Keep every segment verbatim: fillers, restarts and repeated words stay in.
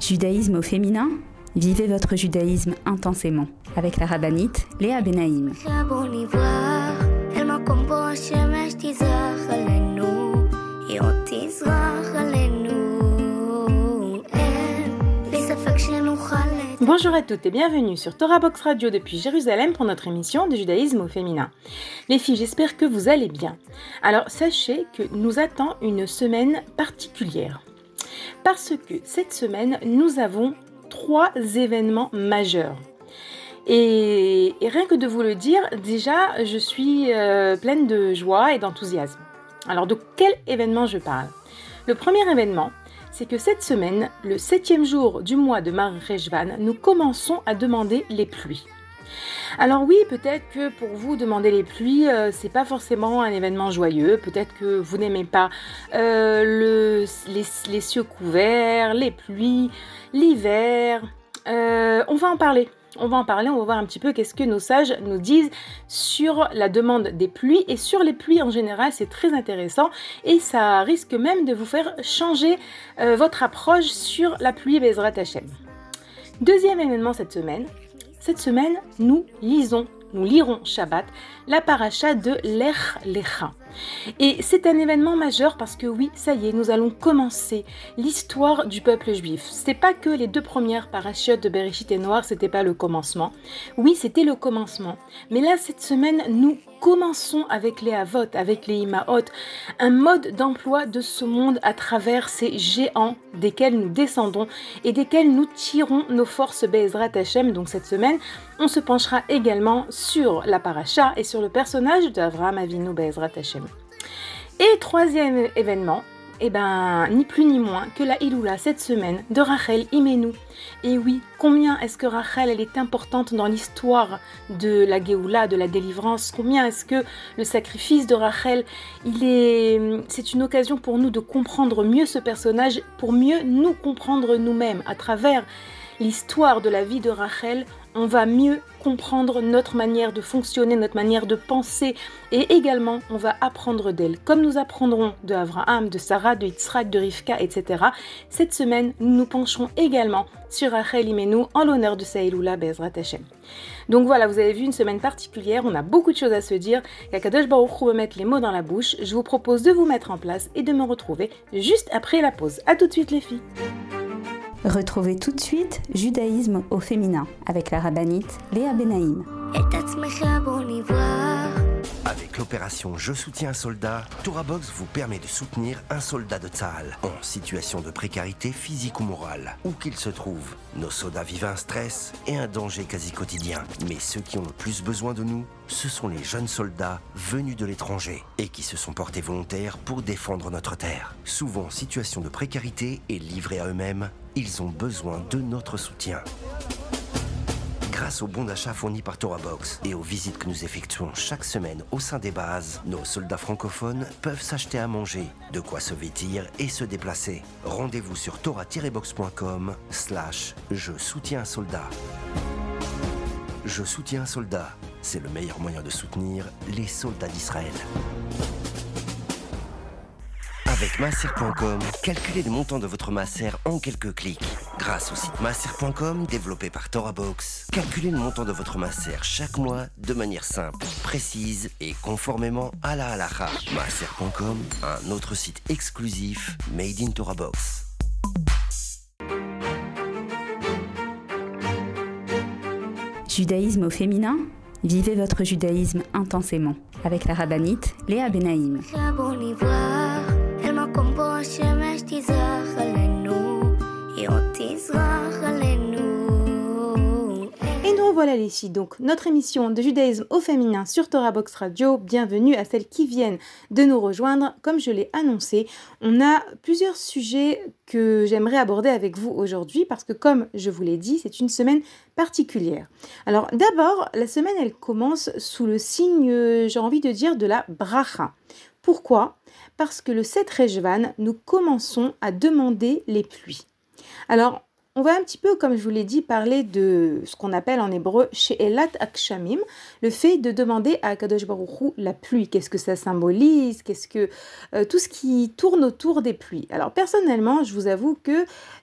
Judaïsme au féminin, vivez votre judaïsme intensément avec la rabbinite Léa Benaïm. Bonjour à toutes et bienvenue sur Torah Box Radio depuis Jérusalem pour notre émission de judaïsme au féminin. Les filles, j'espère que vous allez bien. Alors sachez que nous attend une semaine particulière. Parce que cette semaine, nous avons trois événements majeurs. Et, et rien que de vous le dire, déjà, je suis euh, pleine de joie et d'enthousiasme. Alors, de quel événement je parle ? Le premier événement, c'est que cette semaine, le septième jour du mois de Mar Cheshvan, nous commençons à demander les pluies. Alors oui, peut-être que pour vous, demander les pluies, euh, c'est pas forcément un événement joyeux. Peut-être que vous n'aimez pas euh, le, les, les cieux couverts, les pluies, l'hiver. Euh, on va en parler. On va en parler, on va voir un petit peu qu'est-ce que nos sages nous disent sur la demande des pluies et sur les pluies en général. C'est très intéressant et ça risque même de vous faire changer euh, votre approche sur la pluie Bezrat Hashem. Deuxième événement cette semaine. Cette semaine, nous lisons, nous lirons Shabbat, la paracha de Lech Lecha. Et c'est un événement majeur parce que oui, ça y est, nous allons commencer l'histoire du peuple juif. C'est pas que les deux premières parachiotes de Bereshit et Noir, c'était pas le commencement. Oui, c'était le commencement. Mais là, cette semaine, nous commençons avec les Avot, avec les Imaot, un mode d'emploi de ce monde à travers ces géants desquels nous descendons et desquels nous tirons nos forces Be'ezrat Hashem. Donc cette semaine, on se penchera également sur la paracha et sur le personnage d'Avraham Avinu Be'ezrat Hashem. Et troisième événement, eh ben, ni plus ni moins que la Iloula cette semaine de Rachel Imenu. Et oui, combien est-ce que Rachel elle est importante dans l'histoire de la Géoula, de la délivrance? Combien est-ce que le sacrifice de Rachel, il est, c'est une occasion pour nous de comprendre mieux ce personnage, pour mieux nous comprendre nous-mêmes à travers l'histoire de la vie de Rachel. On va mieux comprendre notre manière de fonctionner, notre manière de penser et également on va apprendre d'elle. Comme nous apprendrons de Abraham, de Sarah, de Yitzhak, de Rivka, et cetera. Cette semaine, nous nous pencherons également sur Rachel Imenu en l'honneur de sa Iloula Be'ezrat Hashem. Donc voilà, vous avez vu une semaine particulière, on a beaucoup de choses à se dire. Qu'Akadosh Baruch Hu me mette les mots dans la bouche. Je vous propose de vous mettre en place et de me retrouver juste après la pause. À tout de suite les filles. Retrouvez tout de suite Judaïsme au féminin avec la rabbinite Léa Benaïm. Avec l'opération Je soutiens un soldat, Torah Box vous permet de soutenir un soldat de Tzahal en situation de précarité physique ou morale, où qu'il se trouve. Nos soldats vivent un stress et un danger quasi quotidien. Mais ceux qui ont le plus besoin de nous, ce sont les jeunes soldats venus de l'étranger et qui se sont portés volontaires pour défendre notre terre. Souvent en situation de précarité et livrés à eux-mêmes, ils ont besoin de notre soutien. Grâce aux bons d'achat fournis par Torah Box et aux visites que nous effectuons chaque semaine au sein des bases, nos soldats francophones peuvent s'acheter à manger, de quoi se vêtir et se déplacer. Rendez-vous sur torah-box.com slash je soutiens un soldat. Je soutiens un soldat, c'est le meilleur moyen de soutenir les soldats d'Israël. Avec Maaser point com, calculez le montant de votre Maaser en quelques clics. Grâce au site Maaser point com, développé par Torah Box, calculez le montant de votre Maaser chaque mois de manière simple, précise et conformément à la halakha. Maaser point com, un autre site exclusif made in Torah Box. Judaïsme au féminin, vivez votre judaïsme intensément avec la rabbinite Léa Benaïm. Et nous revoilà les filles, donc notre émission de judaïsme au féminin sur Torah Box Radio. Bienvenue à celles qui viennent de nous rejoindre. Comme je l'ai annoncé, on a plusieurs sujets que j'aimerais aborder avec vous aujourd'hui parce que comme je vous l'ai dit, c'est une semaine particulière. Alors d'abord, la semaine elle commence sous le signe, j'ai envie de dire, de la bracha. Pourquoi ? Parce que le sept Cheshvan, nous commençons à demander les pluies. Alors, on va un petit peu, comme je vous l'ai dit, parler de ce qu'on appelle en hébreu She'elat Akshamim, le fait de demander à Akadosh Baruch Hu la pluie. Qu'est-ce que ça symbolise? Qu'est-ce que euh, tout ce qui tourne autour des pluies. Alors personnellement, je vous avoue que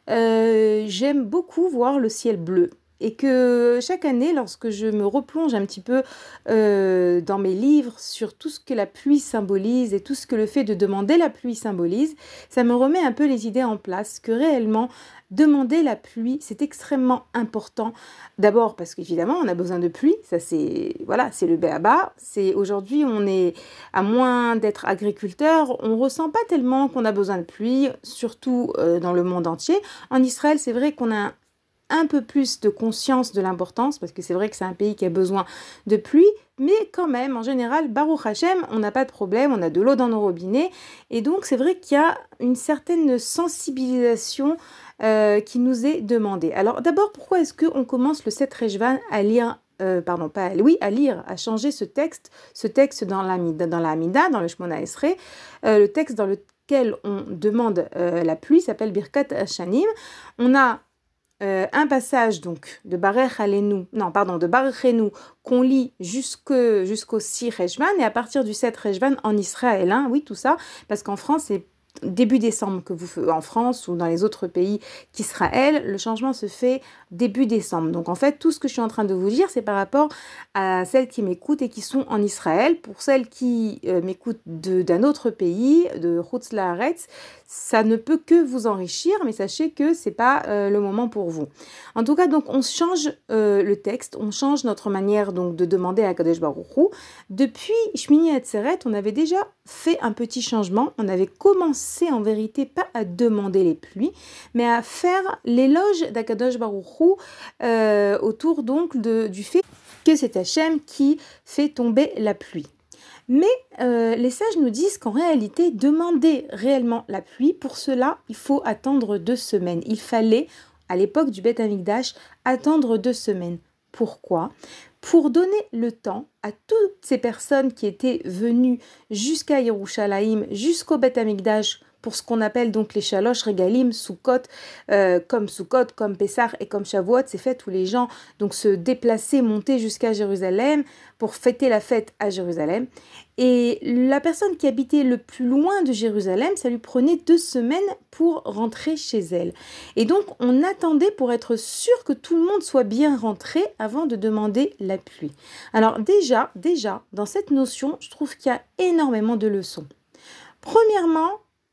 euh, j'aime beaucoup voir le ciel bleu. Et que chaque année, lorsque je me replonge un petit peu euh, dans mes livres sur tout ce que la pluie symbolise et tout ce que le fait de demander la pluie symbolise, ça me remet un peu les idées en place, que réellement, demander la pluie, c'est extrêmement important. D'abord parce qu'évidemment, on a besoin de pluie, ça c'est voilà, c'est le béaba. C'est aujourd'hui, on est à moins d'être agriculteur, on ressent pas tellement qu'on a besoin de pluie, surtout euh, dans le monde entier. En Israël, c'est vrai qu'on a un peu plus de conscience de l'importance, parce que c'est vrai que c'est un pays qui a besoin de pluie, mais quand même, en général, Baruch Hashem, on n'a pas de problème, on a de l'eau dans nos robinets, et donc c'est vrai qu'il y a une certaine sensibilisation euh, qui nous est demandée. Alors d'abord, pourquoi est-ce qu'on commence le sept Rejvan à lire Euh, pardon, pas oui, à lire, à changer ce texte, ce texte dans la dans la Hamida, dans le Shmona Esrei, euh, le texte dans lequel on demande euh, la pluie s'appelle Birkat Hashanim. On a Euh, un passage donc de Barech Alenu, non pardon, de Barechenu qu'on lit jusque, jusqu'au six Rejvan et à partir du sept Rejvan en Israël, hein, oui tout ça, parce qu'en France c'est début décembre que vous faites en France ou dans les autres pays qu'Israël, le changement se fait début décembre. Donc en fait, tout ce que je suis en train de vous dire, c'est par rapport à celles qui m'écoutent et qui sont en Israël. Pour celles qui euh, m'écoutent de, d'un autre pays, de Chutz La'aretz, ça ne peut que vous enrichir, mais sachez que c'est pas euh, le moment pour vous. En tout cas, donc on change euh, le texte, on change notre manière donc de demander à Kadesh Baruch Hu. Depuis Shmini Atzeret, on avait déjà fait un petit changement. On avait commencé en vérité pas à demander les pluies, mais à faire l'éloge d'Akadosh Baruch Hu euh, autour donc de, du fait que c'est Hachem qui fait tomber la pluie. Mais euh, les sages nous disent qu'en réalité, demander réellement la pluie, pour cela, il faut attendre deux semaines. Il fallait, à l'époque du Beth Amikdash, attendre deux semaines. Pourquoi ? Pour donner le temps à toutes ces personnes qui étaient venues jusqu'à Yerushalayim, jusqu'au Beth Amikdash, pour ce qu'on appelle donc les Shalosh Regalim, Sukkot, euh, comme Sukkot, comme Pessah et comme Shavuot, c'est fait où les gens donc se déplaçaient, montaient jusqu'à Jérusalem pour fêter la fête à Jérusalem. Et la personne qui habitait le plus loin de Jérusalem, ça lui prenait deux semaines pour rentrer chez elle. Et donc on attendait pour être sûr que tout le monde soit bien rentré avant de demander la pluie. Alors déjà, déjà, dans cette notion, je trouve qu'il y a énormément de leçons. Premièrement,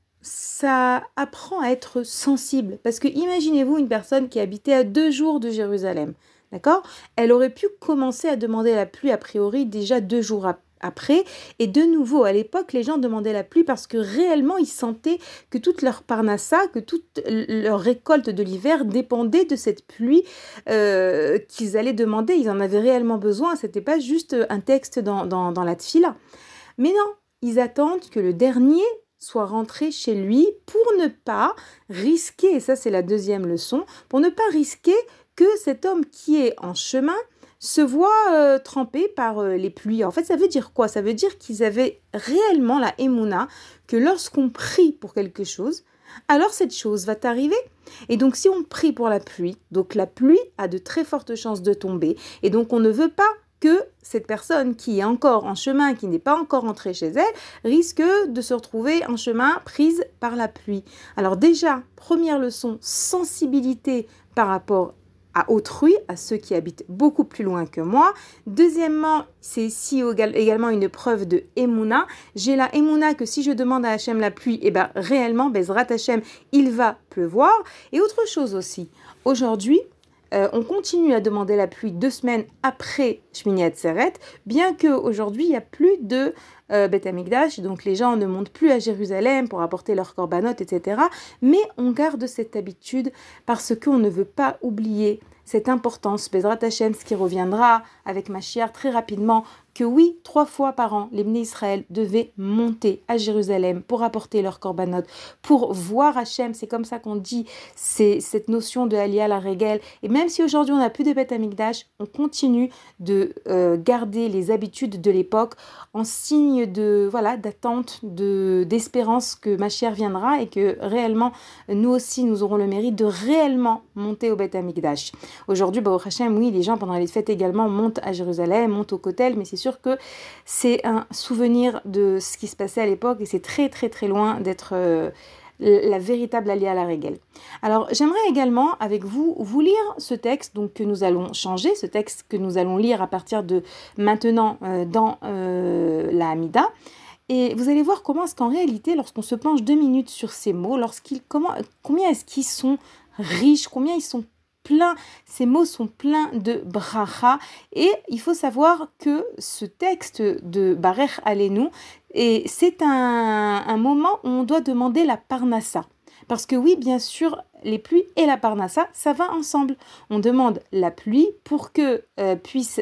ça apprend à être sensible. Parce que imaginez-vous une personne qui habitait à deux jours de Jérusalem. D'accord ? Elle aurait pu commencer à demander la pluie a priori déjà deux jours après. Et de nouveau, à l'époque, les gens demandaient la pluie parce que réellement, ils sentaient que toute leur parnassa, que toute leur récolte de l'hiver dépendait de cette pluie euh, qu'ils allaient demander. Ils en avaient réellement besoin. C'était pas juste un texte dans, dans, dans la tfila. Mais non, ils attendent que le dernier soit rentré chez lui pour ne pas risquer, et ça c'est la deuxième leçon, pour ne pas risquer que cet homme qui est en chemin se voit euh, trempé par euh, les pluies. En fait, ça veut dire quoi ? Ça veut dire qu'ils avaient réellement la émouna que lorsqu'on prie pour quelque chose, alors cette chose va t'arriver. Et donc si on prie pour la pluie, donc la pluie a de très fortes chances de tomber, et donc on ne veut pas que cette personne qui est encore en chemin, qui n'est pas encore entrée chez elle, risque de se retrouver en chemin prise par la pluie. Alors déjà, première leçon, sensibilité par rapport à autrui, à ceux qui habitent beaucoup plus loin que moi. Deuxièmement, c'est ici également une preuve de Emouna. J'ai la Emouna que si je demande à Hachem la pluie, eh ben réellement, Bezrat Hachem, il va pleuvoir. Et autre chose aussi, aujourd'hui, Euh, on continue à demander la pluie deux semaines après Shmini Atzeret, bien qu'aujourd'hui, il n'y a plus de euh, Beth Amikdash, donc les gens ne montent plus à Jérusalem pour apporter leurs korbanot, et cetera. Mais on garde cette habitude parce qu'on ne veut pas oublier cette importance, Bezrat Hashem, ce qui reviendra avec Mashiach très rapidement que oui, trois fois par an, les Bnei Israël devaient monter à Jérusalem pour apporter leur korbanot, pour voir Hachem. C'est comme ça qu'on dit, c'est cette notion de Aliyah la Regel. Et même si aujourd'hui on n'a plus de Beth Amikdash, on continue de euh, garder les habitudes de l'époque en signe de voilà d'attente, de d'espérance que Mashiach viendra et que réellement nous aussi nous aurons le mérite de réellement monter au Beth Amikdash. Aujourd'hui, Baruch Hashem, oui, les gens pendant les fêtes également montent à Jérusalem, montent au Kotel, mais c'est sûr que c'est un souvenir de ce qui se passait à l'époque et c'est très très très loin d'être euh, la véritable Aliyah à la Regel. Alors j'aimerais également avec vous vous lire ce texte donc que nous allons changer, ce texte que nous allons lire à partir de maintenant euh, dans euh, la Hamida. Et vous allez voir comment est-ce qu'en réalité, lorsqu'on se penche deux minutes sur ces mots, lorsqu'ils, comment, combien est-ce qu'ils sont riches, combien ils sont pleins, ces mots sont pleins de bracha. Et il faut savoir que ce texte de Barech Aleinu, et c'est un, un moment où on doit demander la parnassa. Parce que oui, bien sûr, les pluies et la parnassa, ça va ensemble. On demande la pluie pour que euh, puisse,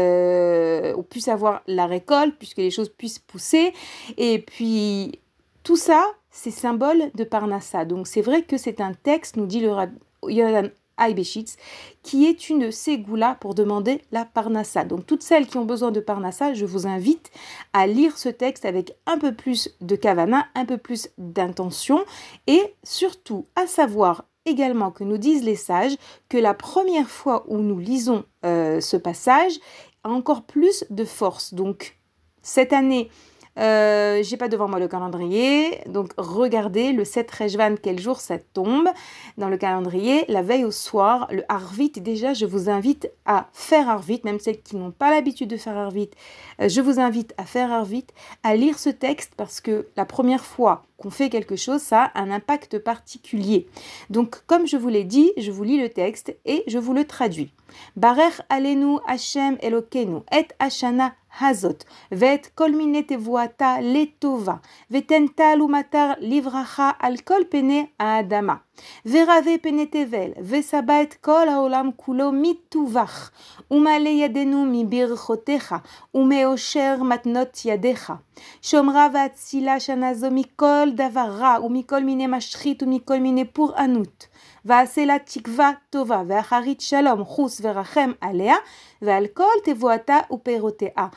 euh, on puisse avoir la récolte, puisque les choses puissent pousser. Et puis, tout ça, c'est symbole de parnassa. Donc, c'est vrai que c'est un texte, nous dit le Rabbi Yohanan Aibeshitz, qui est une ségoula pour demander la parnassa. Donc toutes celles qui ont besoin de parnassa, je vous invite à lire ce texte avec un peu plus de kavana, un peu plus d'intention et surtout à savoir également que nous disent les sages que la première fois où nous lisons euh, ce passage a encore plus de force. Donc cette année, Euh, j'ai pas devant moi le calendrier, donc regardez le sept Rejvan, quel jour ça tombe dans le calendrier, la veille au soir, le Arvit. Déjà je vous invite à faire Arvit, même celles qui n'ont pas l'habitude de faire Arvit, euh, je vous invite à faire Arvit, à lire ce texte parce que la première fois qu'on fait quelque chose, ça a un impact particulier. Donc comme je vous l'ai dit, je vous lis le texte et je vous le traduis. Barech Aleinu Hashem Elokeinu et Hashana Hazot vet kol mine tevuata letova vetenta lumatar livracha al kol pene aadama verave pene tevel vesaba et kol haolam kulo mituvach umale yadenu mi birchotecha umeosher matnot yadecha shomra vatsila shanazo mikol davara u mikol mine mashchit u mikol mine pur anut ועשה תקווה טובה ואחרית שלום חוס ורחם עליה ועל כל תבואתה ופירותיה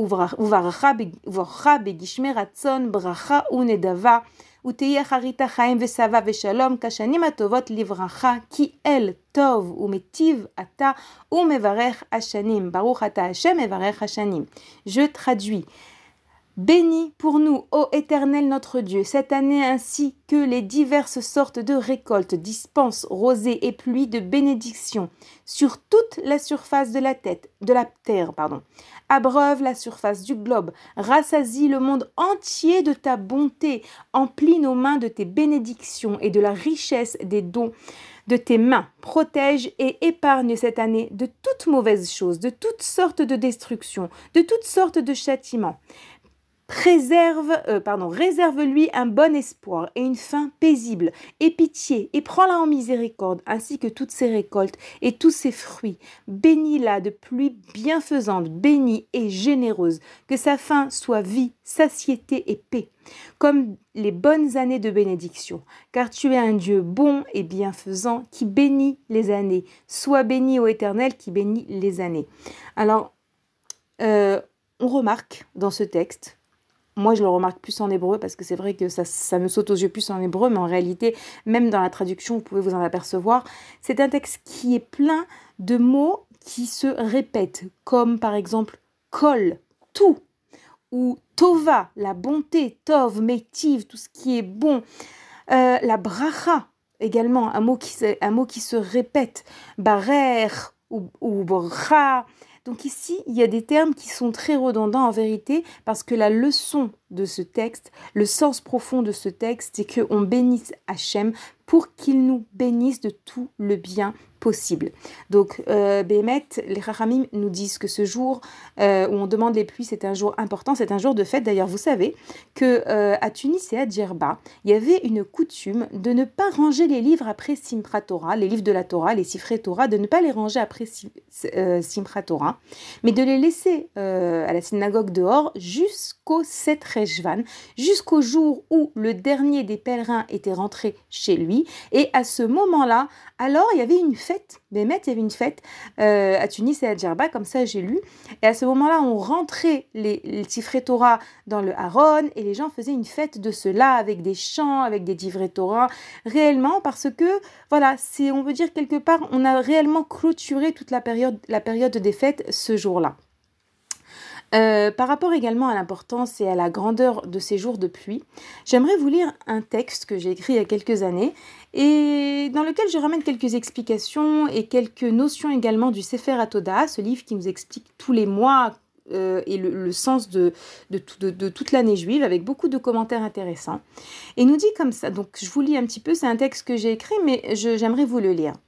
וברכה בגשמי רצון ברכה ונדבה ותהיה אחרית החיים ושבע ושלום כשנים הטובות לברכה כי אל טוב ומטיב אתה ומברך השנים ברוך אתה השם מברך השנים. Je traduis. Bénis pour nous, ô Éternel notre Dieu, cette année ainsi que les diverses sortes de récoltes, dispenses, rosées et pluies de bénédictions sur toute la surface de la tête, de la terre, pardon. Abreuve la surface du globe, rassasie le monde entier de ta bonté, emplis nos mains de tes bénédictions et de la richesse des dons de tes mains, protège et épargne cette année de toutes mauvaises choses, de toutes sortes de destructions, de toutes sortes de châtiments. Préserve, euh, pardon, réserve-lui un bon espoir et une fin paisible, et pitié, et prends-la en miséricorde, ainsi que toutes ses récoltes et tous ses fruits. Bénis-la de pluie bienfaisante, bénie et généreuse, que sa fin soit vie, satiété et paix, comme les bonnes années de bénédiction. Car tu es un Dieu bon et bienfaisant qui bénit les années. Sois béni, ô Éternel, qui bénit les années. Alors, euh, on remarque dans ce texte, moi, je le remarque plus en hébreu parce que c'est vrai que ça, ça me saute aux yeux plus en hébreu, mais en réalité, même dans la traduction, vous pouvez vous en apercevoir. C'est un texte qui est plein de mots qui se répètent, comme par exemple « kol », tout, ou « tova », la bonté, « tov », « métiv », tout ce qui est bon, euh, la « bracha », également, un mot qui se, un mot qui se répète, « barer » ou, ou « bracha ». Donc ici, il y a des termes qui sont très redondants en vérité parce que la leçon de ce texte, le sens profond de ce texte, c'est qu'on bénisse Hachem pour qu'il nous bénisse de tout le bien possible. possible. Donc, euh, Béhémet, les Chachamim nous disent que ce jour euh, où on demande les pluies, c'est un jour important, c'est un jour de fête. D'ailleurs, vous savez que euh, à Tunis et à Djerba, il y avait une coutume de ne pas ranger les livres après Simchat Torah, les livres de la Torah, les Sifrei Torah, de ne pas les ranger après euh, Simchat Torah, mais de les laisser euh, à la synagogue dehors jusqu'au sept Rejvan, jusqu'au jour où le dernier des pèlerins était rentré chez lui. Et à ce moment-là, alors il y avait une fête, Béhémet, il y avait une fête euh, à Tunis et à Djerba, comme ça j'ai lu. Et à ce moment-là, on rentrait les, les Sifrei Torah dans le Haron et les gens faisaient une fête de cela avec des chants, avec des Divrei Torah, réellement parce que, voilà, c'est, on veut dire quelque part, on a réellement clôturé toute la période, la période des fêtes ce jour-là. Euh, par rapport également à l'importance et à la grandeur de ces jours de pluie, j'aimerais vous lire un texte que j'ai écrit il y a quelques années et dans lequel je ramène quelques explications et quelques notions également du Sefer HaTodah, ce livre qui nous explique tous les mois euh, et le, le sens de, de, de, de toute l'année juive avec beaucoup de commentaires intéressants. Et nous dit comme ça, donc je vous lis un petit peu, c'est un texte que j'ai écrit mais je, j'aimerais vous le lire.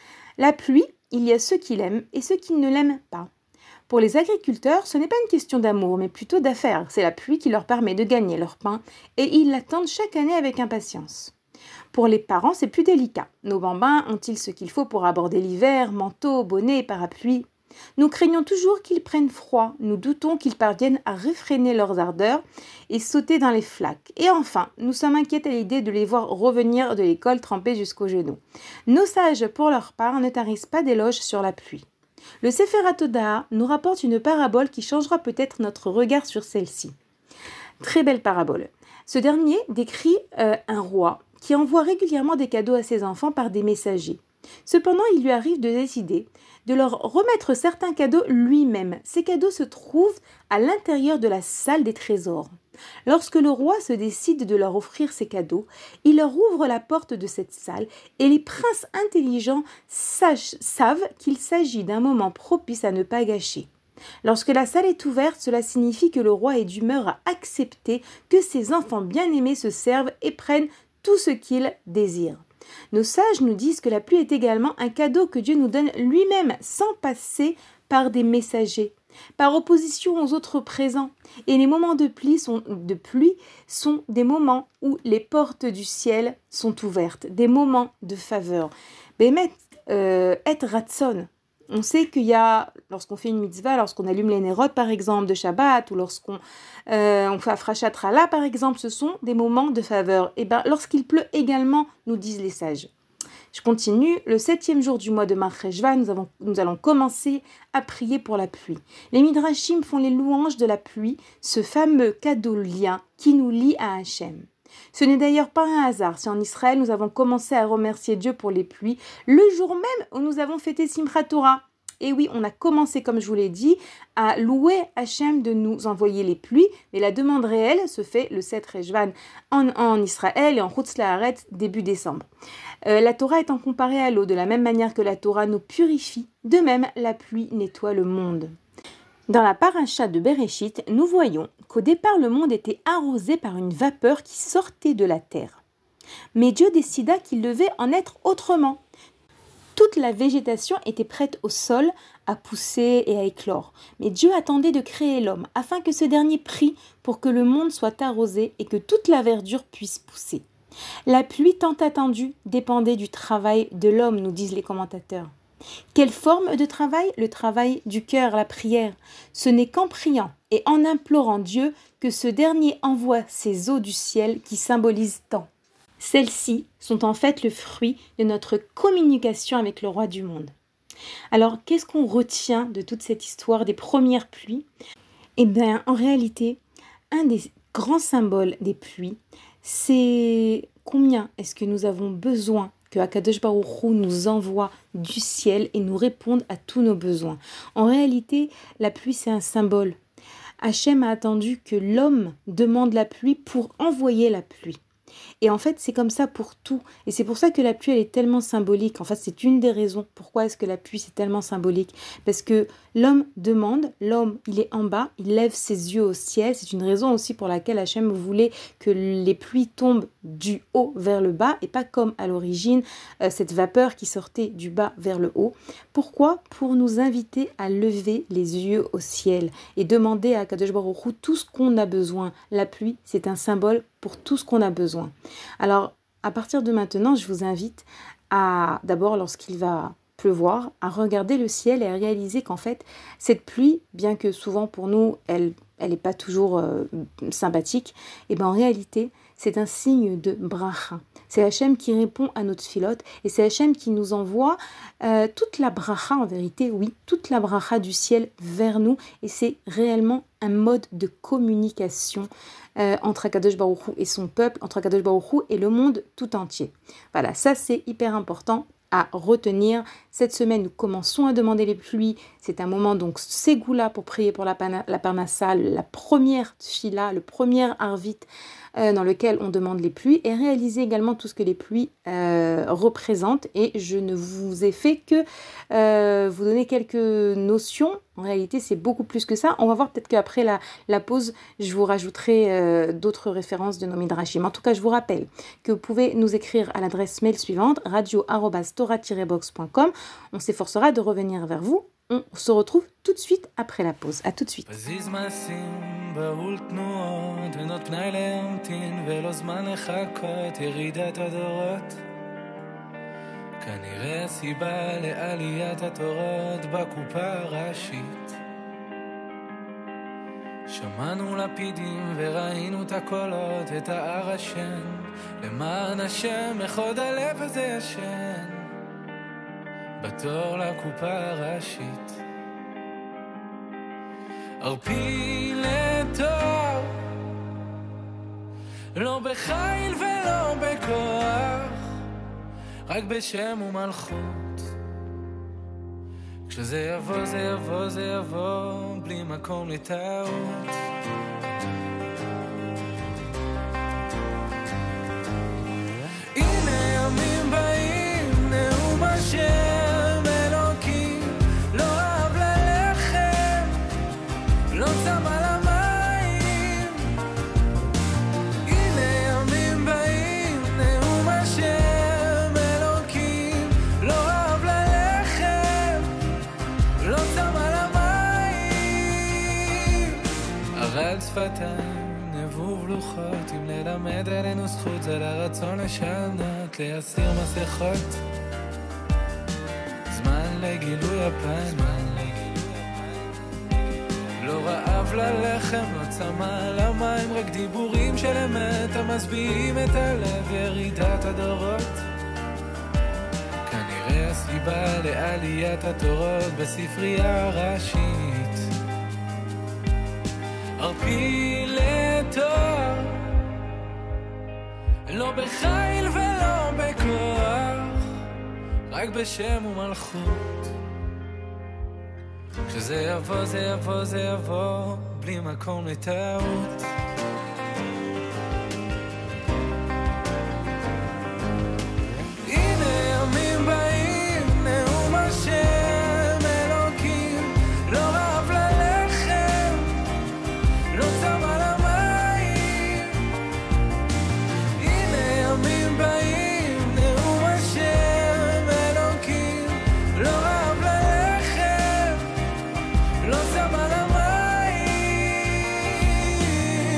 La pluie, il y a ceux qui l'aiment et ceux qui ne l'aiment pas. Pour les agriculteurs, ce n'est pas une question d'amour, mais plutôt d'affaires. C'est la pluie qui leur permet de gagner leur pain et ils l'attendent chaque année avec impatience. Pour les parents, c'est plus délicat. Nos bambins ont-ils ce qu'il faut pour aborder l'hiver, manteau, bonnet, parapluie ? Nous craignons toujours qu'ils prennent froid, nous doutons qu'ils parviennent à réfréner leurs ardeurs et sauter dans les flaques. Et enfin, nous sommes inquiets à l'idée de les voir revenir de l'école trempés jusqu'aux genoux. Nos sages, pour leur part, ne tarissent pas d'éloges sur la pluie. Le Sefer HaTodah nous rapporte une parabole qui changera peut-être notre regard sur celle-ci. Très belle parabole. Ce dernier décrit euh, un roi qui envoie régulièrement des cadeaux à ses enfants par des messagers. Cependant, il lui arrive de décider de leur remettre certains cadeaux lui-même. Ces cadeaux se trouvent à l'intérieur de la salle des trésors. Lorsque le roi se décide de leur offrir ces cadeaux, il leur ouvre la porte de cette salle et les princes intelligents sachent, savent qu'il s'agit d'un moment propice à ne pas gâcher. Lorsque la salle est ouverte, cela signifie que le roi est d'humeur à accepter que ses enfants bien-aimés se servent et prennent tout ce qu'ils désirent. Nos sages nous disent que la pluie est également un cadeau que Dieu nous donne lui-même sans passer par des messagers, par opposition aux autres présents. Et les moments de pluie sont, de pluie sont des moments où les portes du ciel sont ouvertes, des moments de faveur. Béhémet, euh, et ratson. On sait qu'il y a, lorsqu'on fait une mitzvah, lorsqu'on allume les nérotes par exemple de Shabbat, ou lorsqu'on euh, on fait Afrashat Rala par exemple, ce sont des moments de faveur. Et bien lorsqu'il pleut également, nous disent les sages. Je continue, le septième jour du mois de Mar Cheshvan, nous, avons, nous allons commencer à prier pour la pluie. Les Midrashim font les louanges de la pluie, ce fameux cadeau lien qui nous lie à Hachem. Ce n'est d'ailleurs pas un hasard si en Israël nous avons commencé à remercier Dieu pour les pluies le jour même où nous avons fêté Simchat Torah. Et oui, on a commencé, comme je vous l'ai dit, à louer Hachem de nous envoyer les pluies, mais la demande réelle se fait le sept Rejvan en, en Israël et en Chutz La'aretz début décembre. Euh, la Torah étant comparée à l'eau, de la même manière que la Torah nous purifie, de même la pluie nettoie le monde. Dans la paracha de Bereshit, nous voyons qu'au départ le monde était arrosé par une vapeur qui sortait de la terre. Mais Dieu décida qu'il devait en être autrement. Toute la végétation était prête au sol à pousser et à éclore. Mais Dieu attendait de créer l'homme afin que ce dernier prie pour que le monde soit arrosé et que toute la verdure puisse pousser. La pluie tant attendue dépendait du travail de l'homme, nous disent les commentateurs. Quelle forme de travail ? Le travail du cœur, la prière. Ce n'est qu'en priant et en implorant Dieu que ce dernier envoie ces eaux du ciel qui symbolisent tant. Celles-ci sont en fait le fruit de notre communication avec le roi du monde. Alors, qu'est-ce qu'on retient de toute cette histoire des premières pluies ? Eh bien, en réalité, un des grands symboles des pluies, c'est combien est-ce que nous avons besoin que Akadosh Baruch Hu nous envoie du ciel et nous réponde à tous nos besoins. En réalité, la pluie, c'est un symbole. Hachem a attendu que l'homme demande la pluie pour envoyer la pluie. Et en fait, c'est comme ça pour tout. Et c'est pour ça que la pluie, elle est tellement symbolique. En fait, c'est une des raisons pourquoi est-ce que la pluie, c'est tellement symbolique. Parce que l'homme demande, l'homme, il est en bas, il lève ses yeux au ciel. C'est une raison aussi pour laquelle Hachem voulait que les pluies tombent du haut vers le bas et pas comme à l'origine, euh, cette vapeur qui sortait du bas vers le haut. Pourquoi ? Pour nous inviter à lever les yeux au ciel et demander à Kadosh Baruch Hu tout ce qu'on a besoin. La pluie, c'est un symbole pour tout ce qu'on a besoin. Alors, à partir de maintenant, je vous invite à, d'abord, lorsqu'il va pleuvoir, à regarder le ciel et à réaliser qu'en fait, cette pluie, bien que souvent pour nous, elle elle n'est pas toujours euh, sympathique, et bien en réalité, c'est un signe de bracha. C'est Hachem qui répond à notre filote, et c'est Hachem qui nous envoie euh, toute la bracha, en vérité, oui, toute la bracha du ciel vers nous, et c'est réellement un mode de communication euh, entre Akadosh Baruch Hu et son peuple, entre Akadosh Baruch Hu et le monde tout entier. Voilà, ça c'est hyper important à retenir. Cette semaine, nous commençons à demander les pluies. C'est un moment donc ségoula pour prier pour la, pana, la parnassa, la première tfila, le premier arvit euh, dans lequel on demande les pluies et réaliser également tout ce que les pluies euh, représentent. Et je ne vous ai fait que euh, vous donner quelques notions. En réalité, c'est beaucoup plus que ça. On va voir peut-être qu'après la, la pause, je vous rajouterai euh, d'autres références de nos midrashim. En tout cas, je vous rappelle que vous pouvez nous écrire à l'adresse mail suivante, radio arobase torah tiret box point com. On s'efforcera de revenir vers vous. On se retrouve tout de suite après la pause. À tout de suite. כנראה סיבה לעליית התורות בקופה הראשית. שמענו לפידים וראינו את הקולות, את ההר השן, למען השם אחד הלב הזה ישן, בתור לקופה הראשית. ערפי לתור, לא בחיל ולא בכוח, רק בשם ומלכות. כשזה יבוא זה יבוא זה יבוא בלי מקום לטעות. הנה ימים באים נאום השם אלוקים, לא אהב ללחם, לא צם על המים. הנה ימים באים נאום השם על שפתיים, נבוב לוחות, אם ללמד עלינו זכות, זה לרצון לשנות, להסיר מסכות. זמן לגילוי הפן, לא רעב ללחם, לא צמא על המים, רק דיבורים של אמת, המשביעים את הלב, ירידת הדורות. כנראה הסיבה לעליית התורות בספרייה הראשית. ערפי לתור, לא בחיל ולא בכוח, רק בשם ומלכות. כשזה יבוא זה יבוא זה יבוא בלי מקום לטעות. הנה ימים באים נאום השם אלוקים, לא רב ללחם, לא צם על המים. הנה ימים באים נאום השם אלוקים, לא רב ללחם, לא צם על המים.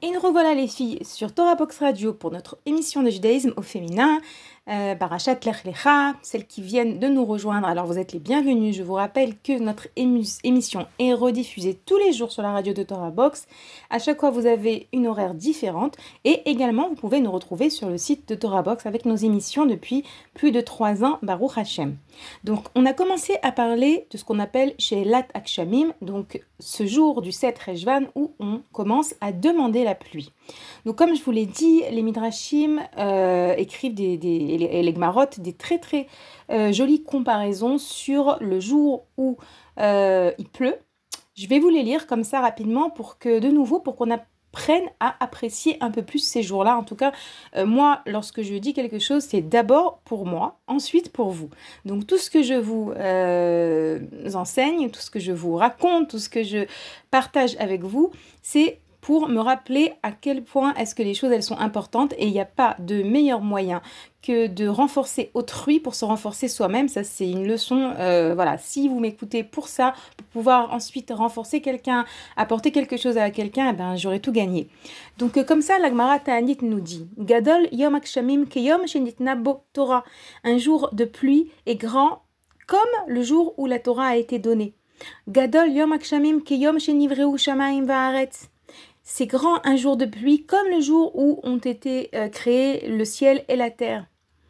Et nous revoilà les filles sur Torah Box Radio pour notre émission de judaïsme au féminin, euh, Parashat Lech Lecha, celles qui viennent de nous rejoindre. Alors vous êtes les bienvenus. Je vous rappelle que notre ému- émission est rediffusée tous les jours sur la radio de Torah Box. À chaque fois vous avez une horaire différente et également vous pouvez nous retrouver sur le site de Torah Box avec nos émissions depuis plus de trois ans, Baruch Hashem. Donc on a commencé à parler de ce qu'on appelle She'elat Akshamim, donc ce jour du sept Rejvan où on commence à demander la pluie. Donc comme je vous l'ai dit, les Midrashim euh, écrivent des, des, et, les, et les Gmarot des très très euh, jolies comparaisons sur le jour où euh, il pleut. Je vais vous les lire comme ça rapidement pour que de nouveau pour qu'on apprenne à apprécier un peu plus ces jours-là. En tout cas, euh, moi, lorsque je dis quelque chose, c'est d'abord pour moi, ensuite pour vous. Donc tout ce que je vous euh, enseigne, tout ce que je vous raconte, tout ce que je partage avec vous, c'est pour me rappeler à quel point est-ce que les choses elles sont importantes et il n'y a pas de meilleur moyen que de renforcer autrui pour se renforcer soi-même. Ça c'est une leçon, euh, voilà, si vous m'écoutez pour ça, pour pouvoir ensuite renforcer quelqu'un, apporter quelque chose à quelqu'un, eh ben, j'aurais tout gagné. Donc euh, comme ça la Gemara Ta'anit nous dit Gadol Yom Akshamim Keyom Shenitna Bo Torah. Un jour de pluie est grand comme le jour où la Torah a été donnée. Gadol Yom Akshamim Keyom Shenivreu Shamayim Va'aretz. C'est grand un jour de pluie comme le jour où ont été euh, créés le ciel et la terre.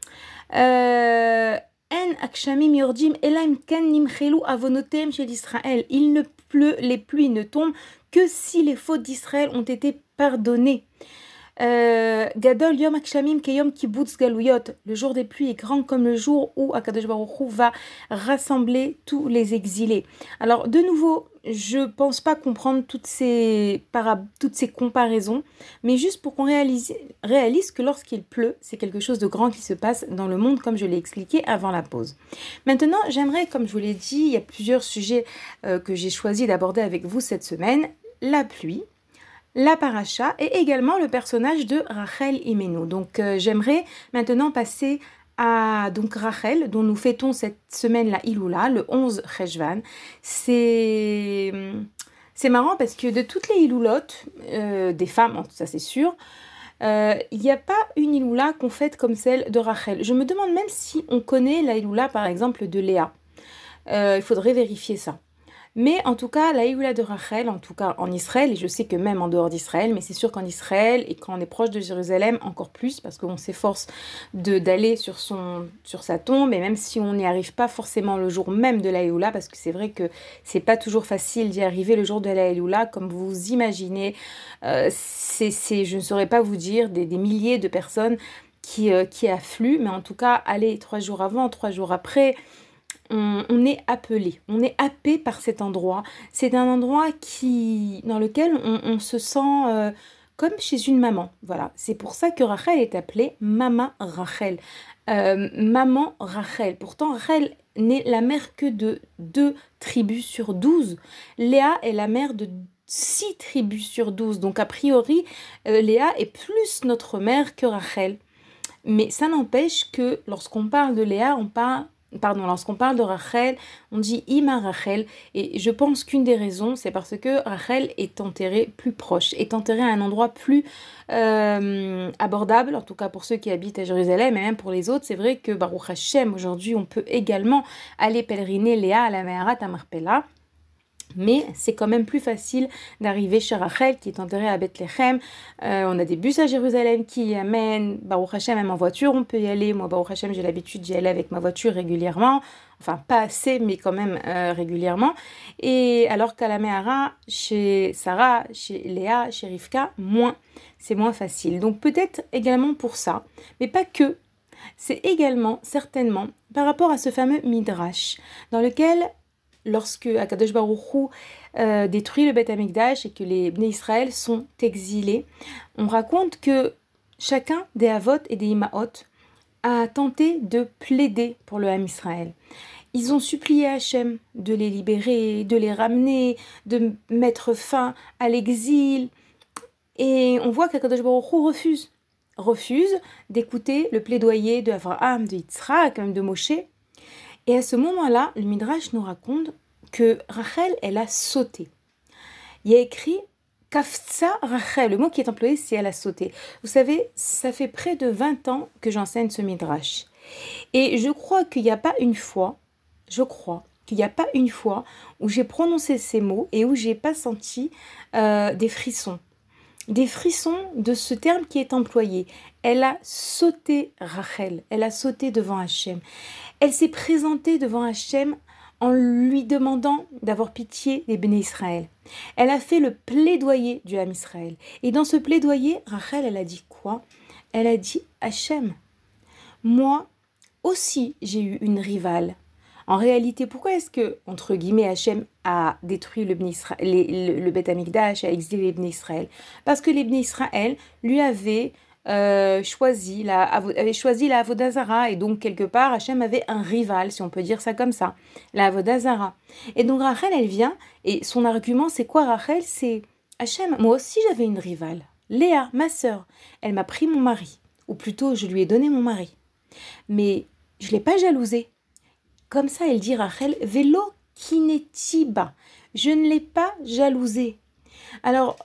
En akshamim yordim elaim ken nimchelu avonotem shel Israël. Il ne pleut, les pluies ne tombent que si les fautes d'Israël ont été pardonnées. Gadol yom akshamim keyom kibbutz galuyot. Le jour des pluies est grand comme le jour où Akadosh Baruch Hu va rassembler tous les exilés. Alors de nouveau, je pense pas comprendre toutes ces para... toutes ces comparaisons, mais juste pour qu'on réalise, réalise que lorsqu'il pleut, c'est quelque chose de grand qui se passe dans le monde, comme je l'ai expliqué avant la pause. Maintenant, j'aimerais, comme je vous l'ai dit, il y a plusieurs sujets euh, que j'ai choisi d'aborder avec vous cette semaine. La pluie, la paracha et également le personnage de Rachel Imenu. Donc euh, j'aimerais maintenant passer à donc Rachel, dont nous fêtons cette semaine la Iloula, le onze Rejvan. C'est, c'est marrant parce que de toutes les Iloulotes, euh, des femmes, ça c'est sûr, euh, il n'y a pas une Iloula qu'on fête comme celle de Rachel. Je me demande même si on connaît la Iloula par exemple de Léa. Euh, il faudrait vérifier ça. Mais en tout cas, la Iloula de Rachel, en tout cas en Israël, et je sais que même en dehors d'Israël, mais c'est sûr qu'en Israël, et quand on est proche de Jérusalem, encore plus, parce qu'on s'efforce de, d'aller sur, son, sur sa tombe, et même si on n'y arrive pas forcément le jour même de la Iloula, parce que c'est vrai que c'est pas toujours facile d'y arriver le jour de la Iloula, comme vous imaginez, euh, c'est, c'est, je ne saurais pas vous dire, des, des milliers de personnes qui, euh, qui affluent, mais en tout cas, aller trois jours avant, trois jours après, On, on est appelé, on est happé par cet endroit. C'est un endroit qui, dans lequel on, on se sent euh, comme chez une maman. Voilà, c'est pour ça que Rachel est appelée Mama Rachel. Euh, maman Rachel. Pourtant, Rachel n'est la mère que de deux tribus sur douze. Léa est la mère de six tribus sur douze. Donc, a priori, euh, Léa est plus notre mère que Rachel. Mais ça n'empêche que lorsqu'on parle de Léa, on parle Pardon, lorsqu'on parle de Rachel, on dit Ima Rachel, et je pense qu'une des raisons, c'est parce que Rachel est enterrée plus proche, est enterrée à un endroit plus euh, abordable, en tout cas pour ceux qui habitent à Jérusalem, et même pour les autres. C'est vrai que Baruch Hashem, aujourd'hui, on peut également aller pèleriner Léa à la Meharat à Marpella. Mais c'est quand même plus facile d'arriver chez Rachel qui est enterrée à Bethléem. Euh, on a des bus à Jérusalem qui y amènent. Baruch Hashem, même en voiture, on peut y aller. Moi, Baruch Hashem, j'ai l'habitude d'y aller avec ma voiture régulièrement. Enfin, pas assez, mais quand même euh, régulièrement. Et alors qu'à la Mehara, chez Sarah, chez Léa, chez Rivka, moins. C'est moins facile. Donc peut-être également pour ça, mais pas que. C'est également, certainement, par rapport à ce fameux Midrash, dans lequel lorsque Akadosh Baruch Hu euh, détruit le Beth Amikdash et que les Bnei Israël sont exilés, on raconte que chacun des Avot et des Imaot a tenté de plaider pour le Ham Israël. Ils ont supplié Hachem de les libérer, de les ramener, de mettre fin à l'exil. Et on voit qu'Akadosh Baruch Hu refuse, refuse d'écouter le plaidoyer de Avraham, de Yitzhak, même de Moshe. Et à ce moment-là, le Midrash nous raconte que Rachel, elle a sauté. Il y a écrit Kafsa Rachel, le mot qui est employé, c'est elle a sauté. Vous savez, ça fait près de vingt ans que j'enseigne ce midrash. Et je crois qu'il n'y a pas une fois, je crois qu'il n'y a pas une fois où j'ai prononcé ces mots et où j'ai pas senti euh, des frissons. Des frissons de ce terme qui est employé. Elle a sauté Rachel, elle a sauté devant Hachem. Elle s'est présentée devant Hachem en lui demandant d'avoir pitié des béné Israël. Elle a fait le plaidoyer du Ham Israël. Et dans ce plaidoyer, Rachel, elle a dit quoi? Elle a dit Hachem, moi aussi j'ai eu une rivale. En réalité, pourquoi est-ce que, entre guillemets, Hachem a détruit le, Israël, les, le, le Beth Amikdash, a exilé les Bnei Israël? Parce que les Bnei Israël lui avaient euh, choisi la, avaient choisi la Avodah Zara, et donc quelque part, Hachem avait un rival, si on peut dire ça comme ça, la Avodah Zara. Et donc Rachel, elle vient, et son argument, c'est quoi Rachel? C'est Hachem, moi aussi j'avais une rivale, Léa, ma sœur, elle m'a pris mon mari, ou plutôt je lui ai donné mon mari, mais je ne l'ai pas jalousée. Comme ça, elle dit Rachel, vélo kinetiba. Je ne l'ai pas jalousée. Alors,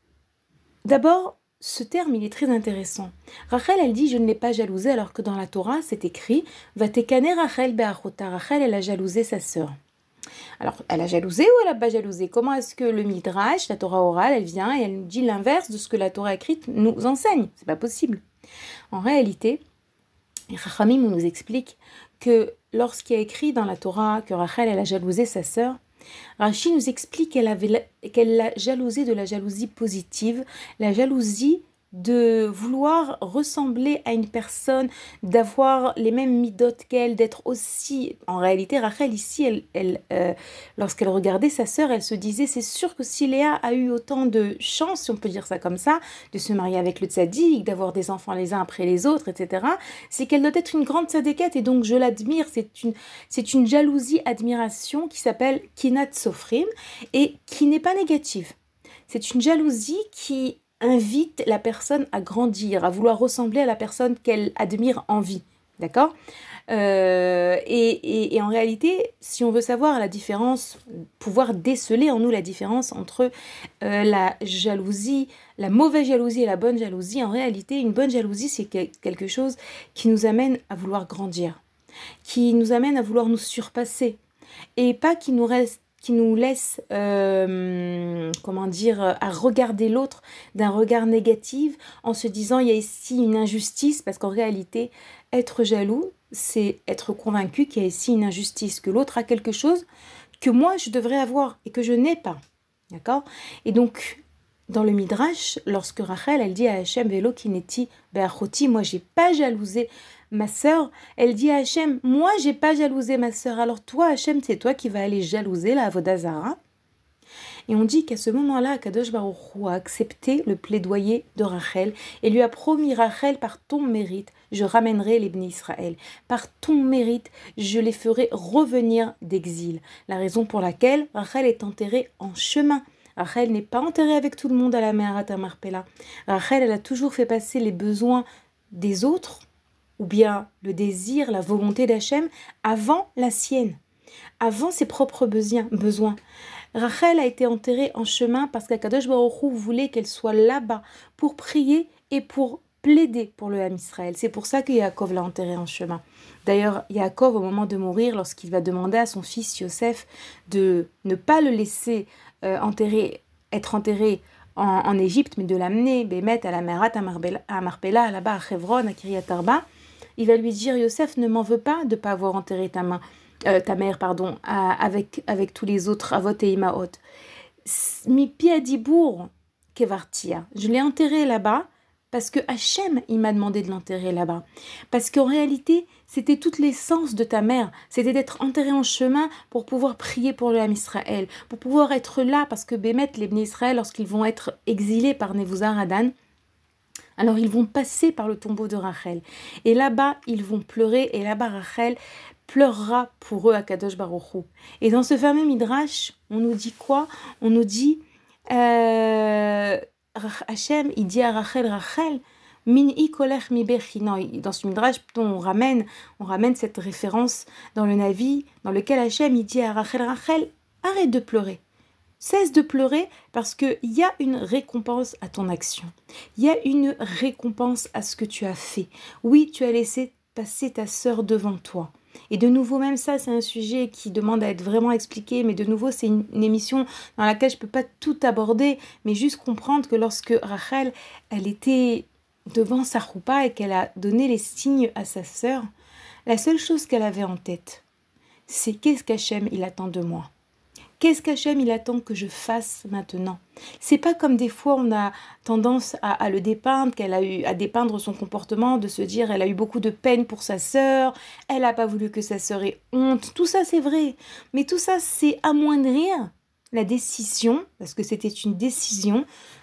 d'abord, ce terme, il est très intéressant. Rachel, elle dit, je ne l'ai pas jalousée, alors que dans la Torah, c'est écrit, Vatekane Rachel be'achota. Rachel, elle a jalousé sa sœur. Alors, elle a jalousé ou elle n'a pas jalousé? Comment est-ce que le Midrash, la Torah orale, elle vient et elle nous dit l'inverse de ce que la Torah écrite nous enseigne? C'est pas possible. En réalité, les Chachamim nous expliquent que lorsqu'il y a écrit dans la Torah que Rachel elle a jalousé sa sœur, Rashi nous explique qu'elle avait, qu'elle l'a jalousé de la jalousie positive, la jalousie de vouloir ressembler à une personne, d'avoir les mêmes midotes qu'elle, d'être aussi... En réalité, Rachel, ici, elle, elle, euh, lorsqu'elle regardait sa sœur, elle se disait, c'est sûr que si Léa a eu autant de chance, si on peut dire ça comme ça, de se marier avec le tzaddik, d'avoir des enfants les uns après les autres, et cetera, c'est qu'elle doit être une grande tzadékette, et donc je l'admire, c'est une, c'est une jalousie-admiration qui s'appelle Kinat Sofrim, et qui n'est pas négative. C'est une jalousie qui invite la personne à grandir, à vouloir ressembler à la personne qu'elle admire en vie, d'accord euh, et, et, et en réalité, si on veut savoir la différence, pouvoir déceler en nous la différence entre euh, la jalousie, la mauvaise jalousie et la bonne jalousie, en réalité, une bonne jalousie, c'est quelque chose qui nous amène à vouloir grandir, qui nous amène à vouloir nous surpasser, et pas qui nous reste qui nous laisse, euh, comment dire, à regarder l'autre d'un regard négatif en se disant il y a ici une injustice, parce qu'en réalité, être jaloux, c'est être convaincu qu'il y a ici une injustice, que l'autre a quelque chose que moi je devrais avoir et que je n'ai pas, d'accord? Et donc, dans le Midrash, lorsque Rachel, elle dit à Hachem, Velo kineti be'achoti, moi j'ai pas jalousé ma sœur, elle dit à Hachem, moi j'ai pas jalousé ma sœur, alors toi Hachem, c'est toi qui vas aller jalouser la Avodah Zara. Et on dit qu'à ce moment-là, Kadosh Baruch Hu a accepté le plaidoyer de Rachel et lui a promis, Rachel, par ton mérite, je ramènerai les Bnei Israël. Par ton mérite, je les ferai revenir d'exil. La raison pour laquelle Rachel est enterrée en chemin. Rachel n'est pas enterrée avec tout le monde à la Me'arat HaMarpela. Rachel, elle a toujours fait passer les besoins des autres, ou bien le désir, la volonté d'Hachem, avant la sienne, avant ses propres besoins. Rachel a été enterrée en chemin parce qu'Akadosh Baruch Hu voulait qu'elle soit là-bas pour prier et pour plaider pour le Ham Israël. C'est pour ça que Yaakov l'a enterrée en chemin. D'ailleurs, Yaakov, au moment de mourir, lorsqu'il va demander à son fils Yosef de ne pas le laisser euh, enterrer, être enterré en, en Égypte, mais de l'amener, Bémet, à la Me'arat HaMarpela, là-bas à Hebron, à Kiryat Arba, il va lui dire, Yosef, ne m'en veux pas de ne pas avoir enterré ta, main, euh, ta mère pardon, à, avec, avec tous les autres Avot et Imaot. Mi piadibour kevartia. Je l'ai enterré là-bas parce que Hachem, il m'a demandé de l'enterrer là-bas. Parce qu'en réalité, c'était toute l'essence de ta mère. C'était d'être enterré en chemin pour pouvoir prier pour le Ham Israël, pour pouvoir être là, parce que Bémet, les Bnei Israël, lorsqu'ils vont être exilés par Nebuzaradan, alors ils vont passer par le tombeau de Rachel. Et là-bas, ils vont pleurer. Et là-bas, Rachel pleurera pour eux à Kadosh Baruch Hu. Et dans ce fameux Midrash, on nous dit quoi? On nous dit, euh, Hachem, il dit à Rachel, Rachel, Min-i kolech mi bechina. Dans ce Midrash, on ramène, on ramène cette référence dans le Navi, dans lequel Hachem, il dit à Rachel, Rachel, arrête de pleurer. cesse de pleurer parce qu'il y a une récompense à ton action. Il y a une récompense à ce que tu as fait. Oui, tu as laissé passer ta sœur devant toi. Et de nouveau, même ça, c'est un sujet qui demande à être vraiment expliqué, mais de nouveau, c'est une, une émission dans laquelle je ne peux pas tout aborder, mais juste comprendre que lorsque Rachel, elle était devant sa roupa et qu'elle a donné les signes à sa sœur, la seule chose qu'elle avait en tête, c'est qu'est-ce qu'Hachem il attend de moi. Qu'est-ce qu'Hachem il attend que je fasse maintenant? C'est pas comme des fois on a tendance à, à le dépeindre, qu'elle a eu à dépeindre son comportement, de se dire elle a eu beaucoup de peine pour sa sœur, elle n'a pas voulu que sa sœur ait honte. Tout ça c'est vrai, mais tout ça c'est amoindrir la décision, parce que c'était une décision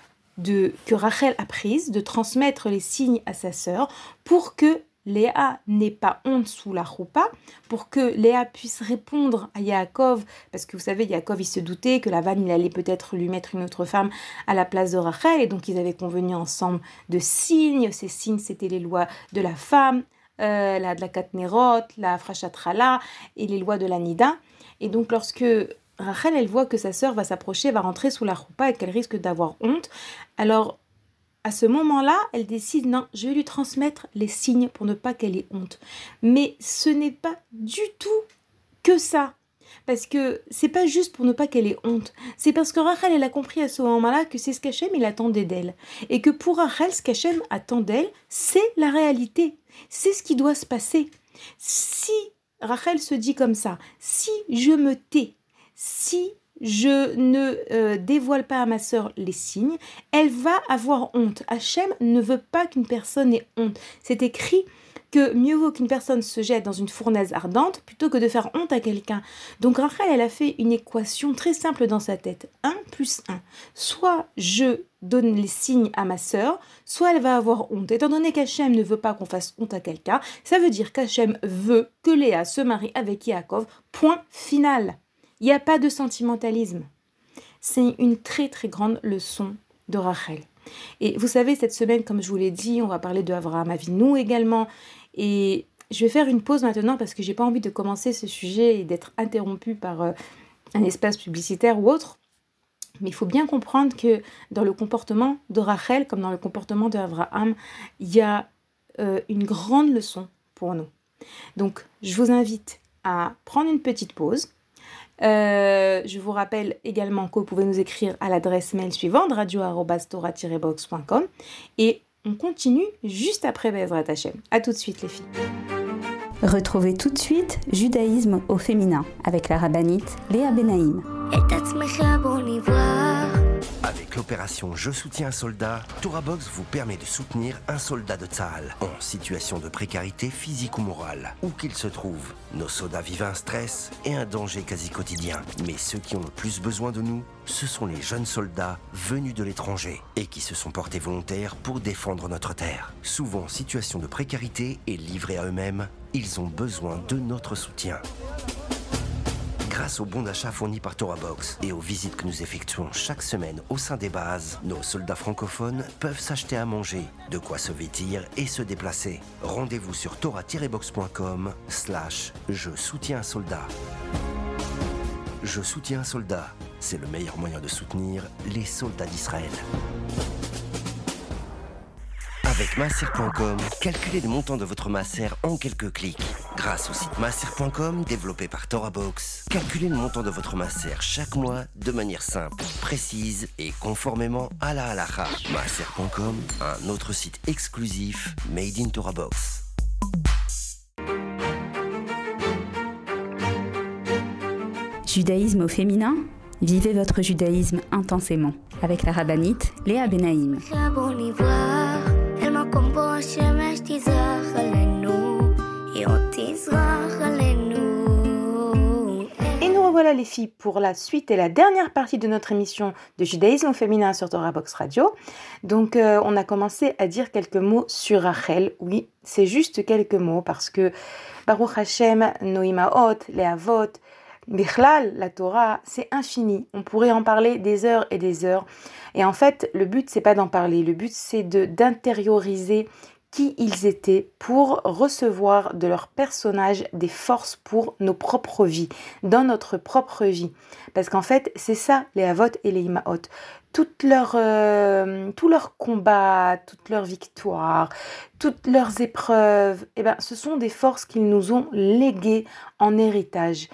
de, que Rachel a prise de transmettre les signes à sa sœur pour que Léa n'ait pas honte sous la roupa, pour que Léa puisse répondre à Yaakov, parce que vous savez, Yaakov, il se doutait que Lavan, il allait peut-être lui mettre une autre femme à la place de Rachel, et donc ils avaient convenu ensemble de signes. Ces signes, c'était les lois de la femme, euh, la de la Katnerot, la Frashatrala, et les lois de la Nida. Et donc lorsque Rachel, elle voit que sa sœur va s'approcher, va rentrer sous la roupa et qu'elle risque d'avoir honte, alors à ce moment-là, elle décide, non, je vais lui transmettre les signes pour ne pas qu'elle ait honte. Mais ce n'est pas du tout que ça. Parce que c'est pas juste pour ne pas qu'elle ait honte. C'est parce que Rachel, elle a compris à ce moment-là que c'est ce qu'Hachem, il attendait d'elle. Et que pour Rachel, ce qu'Hachem attend d'elle, c'est la réalité. C'est ce qui doit se passer. Si Rachel se dit comme ça, si je me tais, si je ne euh, dévoile pas à ma sœur les signes, elle va avoir honte. Hachem ne veut pas qu'une personne ait honte. C'est écrit que mieux vaut qu'une personne se jette dans une fournaise ardente plutôt que de faire honte à quelqu'un. Donc Rachel, elle a fait une équation très simple dans sa tête. un plus un. Soit je donne les signes à ma sœur, soit elle va avoir honte. Étant donné qu'Hachem ne veut pas qu'on fasse honte à quelqu'un, ça veut dire qu'Hachem veut que Léa se marie avec Yaakov. Point final. Il n'y a pas de sentimentalisme. C'est une très très grande leçon de Rachel. Et vous savez, cette semaine, comme je vous l'ai dit, on va parler de Avraham Avinu également. Et je vais faire une pause maintenant parce que j'ai pas envie de commencer ce sujet et d'être interrompue par euh, un espace publicitaire ou autre. Mais il faut bien comprendre que dans le comportement de Rachel, comme dans le comportement d'Avraham, il y a euh, une grande leçon pour nous. Donc, je vous invite à prendre une petite pause. Euh, je vous rappelle également que vous pouvez nous écrire à l'adresse mail suivante radio arobase torah tiret box point com et on continue juste après Bezrat Hashem. À tout de suite les filles. Retrouvez tout de suite Judaïsme au féminin avec la rabbinite Léa Benaïm. Avec l'opération Je soutiens un soldat, TorahBox vous permet de soutenir un soldat de Tsahal en situation de précarité physique ou morale, où qu'il se trouve. Nos soldats vivent un stress et un danger quasi quotidien. Mais ceux qui ont le plus besoin de nous, ce sont les jeunes soldats venus de l'étranger et qui se sont portés volontaires pour défendre notre terre. Souvent en situation de précarité et livrés à eux-mêmes, ils ont besoin de notre soutien. Grâce aux bons d'achat fournis par TorahBox et aux visites que nous effectuons chaque semaine au sein des bases, nos soldats francophones peuvent s'acheter à manger, de quoi se vêtir et se déplacer. Rendez-vous sur torah tiret box point com slash je soutiens un soldat. Je soutiens un soldat, c'est le meilleur moyen de soutenir les soldats d'Israël. Avec maaser point com, calculez le montant de votre maaser en quelques clics. Grâce au site maaser point com, développé par TorahBox, calculez le montant de votre maaser chaque mois de manière simple, précise et conformément à la halakha. maaser point com, un autre site exclusif made in TorahBox. Judaïsme au féminin? Vivez votre judaïsme intensément avec la rabbinite Léa Benaïm. Et nous revoilà les filles pour la suite et la dernière partie de notre émission de judaïsme au féminin sur TorahBox Radio. Donc euh, on a commencé à dire quelques mots sur Rachel. Oui, c'est juste quelques mots parce que Baruch Hashem, nos imaot, les avot, Bichlal, la Torah, c'est infini. On pourrait en parler des heures et des heures. Et en fait, le but, c'est pas d'en parler. Le but, c'est de, d'intérioriser qui ils étaient pour recevoir de leur personnage des forces pour nos propres vies, dans notre propre vie. Parce qu'en fait, c'est ça les Havot et les Imaot. Toutes leurs, euh, tous leurs combats, toutes leurs victoires, toutes leurs épreuves, eh ben, ce sont des forces qu'ils nous ont léguées en héritage.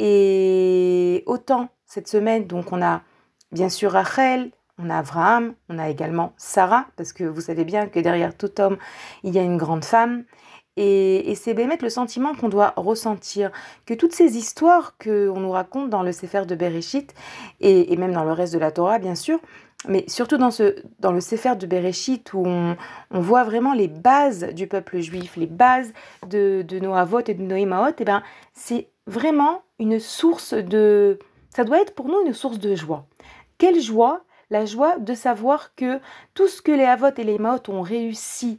Et autant cette semaine, donc on a bien sûr Rachel, on a Abraham, on a également Sarah, parce que vous savez bien que derrière tout homme, il y a une grande femme. Et, et c'est bémet le sentiment qu'on doit ressentir, que toutes ces histoires qu'on nous raconte dans le Sefer de Bereshit, et, et même dans le reste de la Torah, bien sûr, mais surtout dans, ce, dans le Sefer de Bereshit, où on, on voit vraiment les bases du peuple juif, les bases de, de nos Havot et de nos Imaot, et ben, c'est vraiment une source de... Ça doit être pour nous une source de joie. Quelle joie! La joie de savoir que tout ce que les Havot et les Imaot ont réussi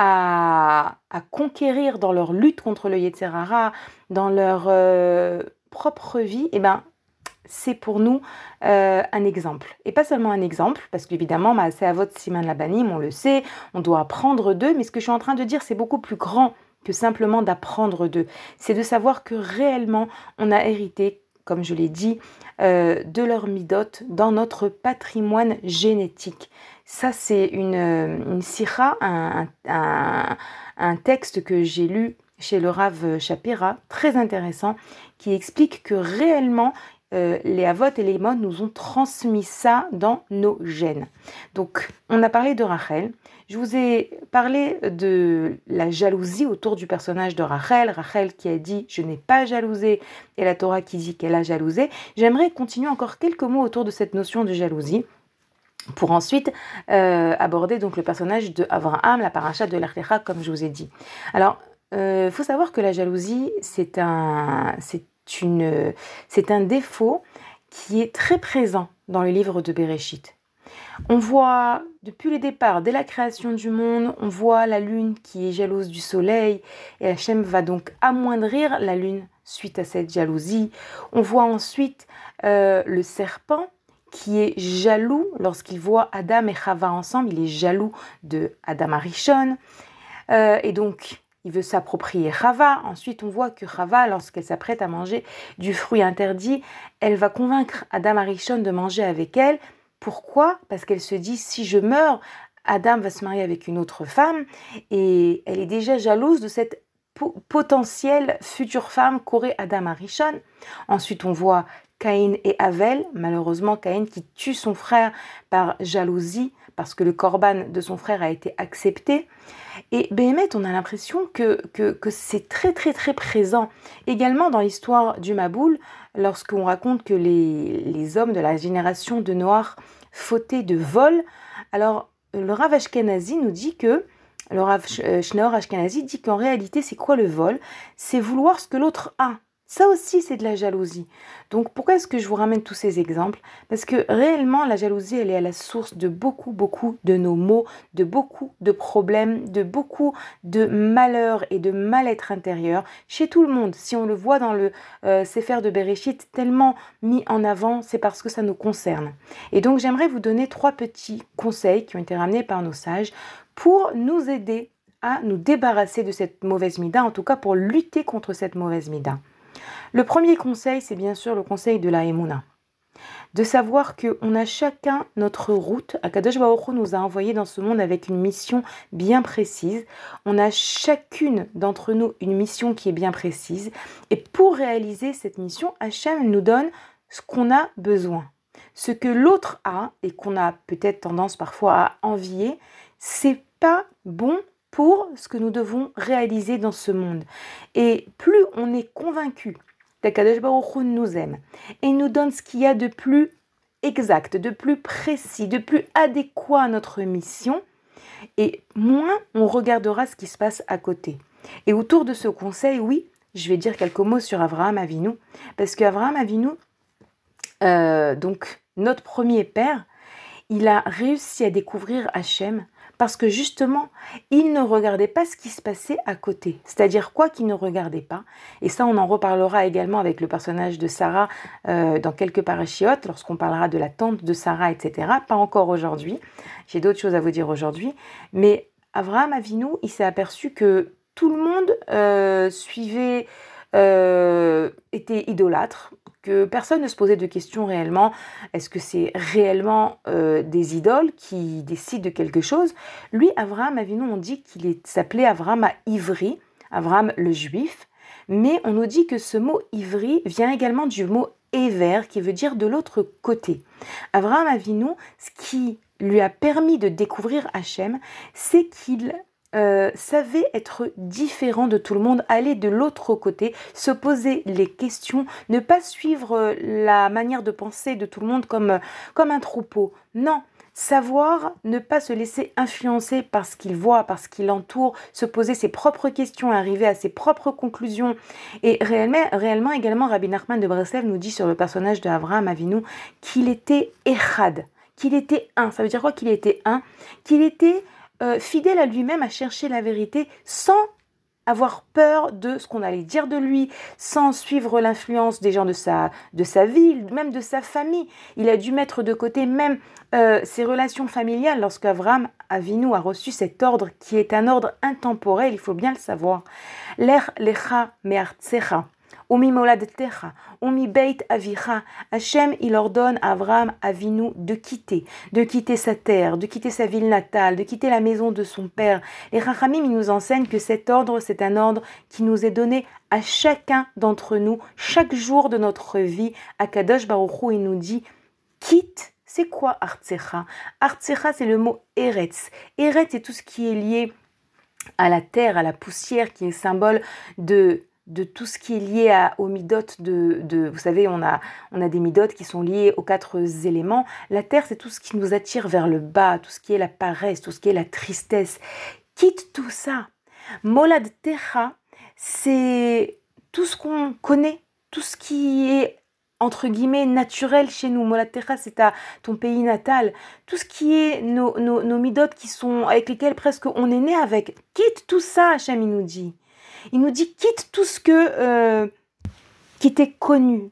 à, à conquérir dans leur lutte contre le Yetzer Hara, dans leur euh, propre vie, eh ben, c'est pour nous euh, un exemple. Et pas seulement un exemple, parce qu'évidemment, Maaseh Havot Siman Labanim, on le sait, on doit apprendre d'eux, mais ce que je suis en train de dire, c'est beaucoup plus grand que simplement d'apprendre d'eux. C'est de savoir que réellement, on a hérité, comme je l'ai dit, euh, de leur midot dans notre patrimoine génétique. Ça, c'est une, une sira, un, un, un texte que j'ai lu chez le Rav Shapira, très intéressant, qui explique que réellement, euh, les Havot et les Imot nous ont transmis ça dans nos gènes. Donc, on a parlé de Rachel. Je vous ai parlé de la jalousie autour du personnage de Rachel. Rachel qui a dit « je n'ai pas jalousé » et la Torah qui dit qu'elle a jalousé. J'aimerais continuer encore quelques mots autour de cette notion de jalousie pour ensuite euh, aborder donc le personnage de Abraham, la paracha de Lech Lecha, comme je vous ai dit. Alors, il euh, faut savoir que la jalousie, c'est un, c'est une, c'est un défaut qui est très présent dans le livre de Bereshit. On voit, depuis le départ, dès la création du monde, on voit la lune qui est jalouse du soleil, et Hachem va donc amoindrir la lune suite à cette jalousie. On voit ensuite euh, le serpent qui est jaloux lorsqu'il voit Adam et Chava ensemble, il est jaloux de Adam Arishon, euh, et donc il veut s'approprier Chava. Ensuite, on voit que Chava, lorsqu'elle s'apprête à manger du fruit interdit, elle va convaincre Adam Arishon de manger avec elle. Pourquoi ? Parce qu'elle se dit, si je meurs, Adam va se marier avec une autre femme et elle est déjà jalouse de cette po- potentielle future femme qu'aurait Adam Arishon. Ensuite, on voit Caïn et Avel, malheureusement Caïn qui tue son frère par jalousie parce que le korban de son frère a été accepté. Et Béhémet, on a l'impression que, que, que c'est très très très présent. Également dans l'histoire du Maboul, lorsqu'on raconte que les, les hommes de la génération de Noach fautaient de vol, alors le Rav Ashkenazi nous dit que, le Rav Shneor Ashkenazi dit qu'en réalité c'est quoi le vol ? C'est vouloir ce que l'autre a. Ça aussi, c'est de la jalousie. Donc, pourquoi est-ce que je vous ramène tous ces exemples ? Parce que réellement, la jalousie, elle est à la source de beaucoup, beaucoup de nos maux, de beaucoup de problèmes, de beaucoup de malheurs et de mal-être intérieur chez tout le monde. Si on le voit dans le euh, Sefer de Bereshit, tellement mis en avant, c'est parce que ça nous concerne. Et donc, j'aimerais vous donner trois petits conseils qui ont été ramenés par nos sages pour nous aider à nous débarrasser de cette mauvaise mida, en tout cas pour lutter contre cette mauvaise mida. Le premier conseil, c'est bien sûr le conseil de la Emouna. De savoir qu'on a chacun notre route. Akadosh Baruch Hu nous a envoyés dans ce monde avec une mission bien précise. On a chacune d'entre nous une mission qui est bien précise. Et pour réaliser cette mission, Hachem nous donne ce qu'on a besoin. Ce que l'autre a et qu'on a peut-être tendance parfois à envier, c'est pas bon pour ce que nous devons réaliser dans ce monde. Et plus on est convaincu qu'Akadosh Baruch Hu nous aime et nous donne ce qu'il y a de plus exact, de plus précis, de plus adéquat à notre mission, et moins on regardera ce qui se passe à côté. Et autour de ce conseil, oui, je vais dire quelques mots sur Avraham Avinu, parce qu'Avraham Avinu, euh, donc notre premier père, il a réussi à découvrir Hachem parce que justement, il ne regardait pas ce qui se passait à côté. C'est-à-dire quoi qu'il ne regardait pas. Et ça, on en reparlera également avec le personnage de Sarah euh, dans quelques parachiotes, lorsqu'on parlera de la tante de Sarah, et cetera. Pas encore aujourd'hui. J'ai d'autres choses à vous dire aujourd'hui. Mais Avraham Avinu, il s'est aperçu que tout le monde euh, suivait, euh, était idolâtre, que personne ne se posait de questions réellement. Est-ce que c'est réellement euh, des idoles qui décident de quelque chose? Lui, Avraham Avinu, on dit qu'il est- s'appelait Avraham à Ivri, Avraham le juif, mais on nous dit que ce mot Ivri vient également du mot Ever, qui veut dire de l'autre côté. Avraham Avinu, ce qui lui a permis de découvrir Hachem, c'est qu'il euh, savait être différent de tout le monde, aller de l'autre côté, se poser les questions, ne pas suivre la manière de penser de tout le monde comme, comme un troupeau. Non, savoir ne pas se laisser influencer par ce qu'il voit, par ce qui l'entoure, se poser ses propres questions, arriver à ses propres conclusions. Et réellement, réellement également, Rabbi Nachman de Breslev nous dit sur le personnage de Avraham Avinu qu'il était Echad, qu'il était un. Ça veut dire quoi qu'il était un? Qu'il était euh, fidèle à lui-même, à chercher la vérité sans avoir peur de ce qu'on allait dire de lui, sans suivre l'influence des gens de sa, de sa vie, même de sa famille. Il a dû mettre de côté même euh, ses relations familiales lorsqu'Avraham Avinu a reçu cet ordre qui est un ordre intemporel, il faut bien le savoir. L'er lecha me'artsecha. Umi moladtecha, umi beit avicha. Hachem, il ordonne à Avraham Avinu de quitter, de quitter sa terre, de quitter sa ville natale, de quitter la maison de son père. Les Rachamim, ils nous enseignent que cet ordre, c'est un ordre qui nous est donné à chacun d'entre nous, chaque jour de notre vie. Akadosh Baruch Hu, il nous dit, quitte. C'est quoi Artsecha? Artsecha, c'est le mot Eretz. Eretz, c'est tout ce qui est lié à la terre, à la poussière, qui est symbole de... de tout ce qui est lié à, aux midotes de, de... Vous savez, on a, on a des midotes qui sont liées aux quatre éléments. La terre, c'est tout ce qui nous attire vers le bas, tout ce qui est la paresse, tout ce qui est la tristesse. Quitte tout ça. Molad Techa, c'est tout ce qu'on connaît, tout ce qui est entre guillemets naturel chez nous. Molad Techa, c'est ta, ton pays natal. Tout ce qui est nos, nos, nos midotes qui sont, avec lesquelles presque on est né avec. Quitte tout ça, Hachem, il nous dit. Il nous dit, quitte tout ce que, euh, qui t'est connu.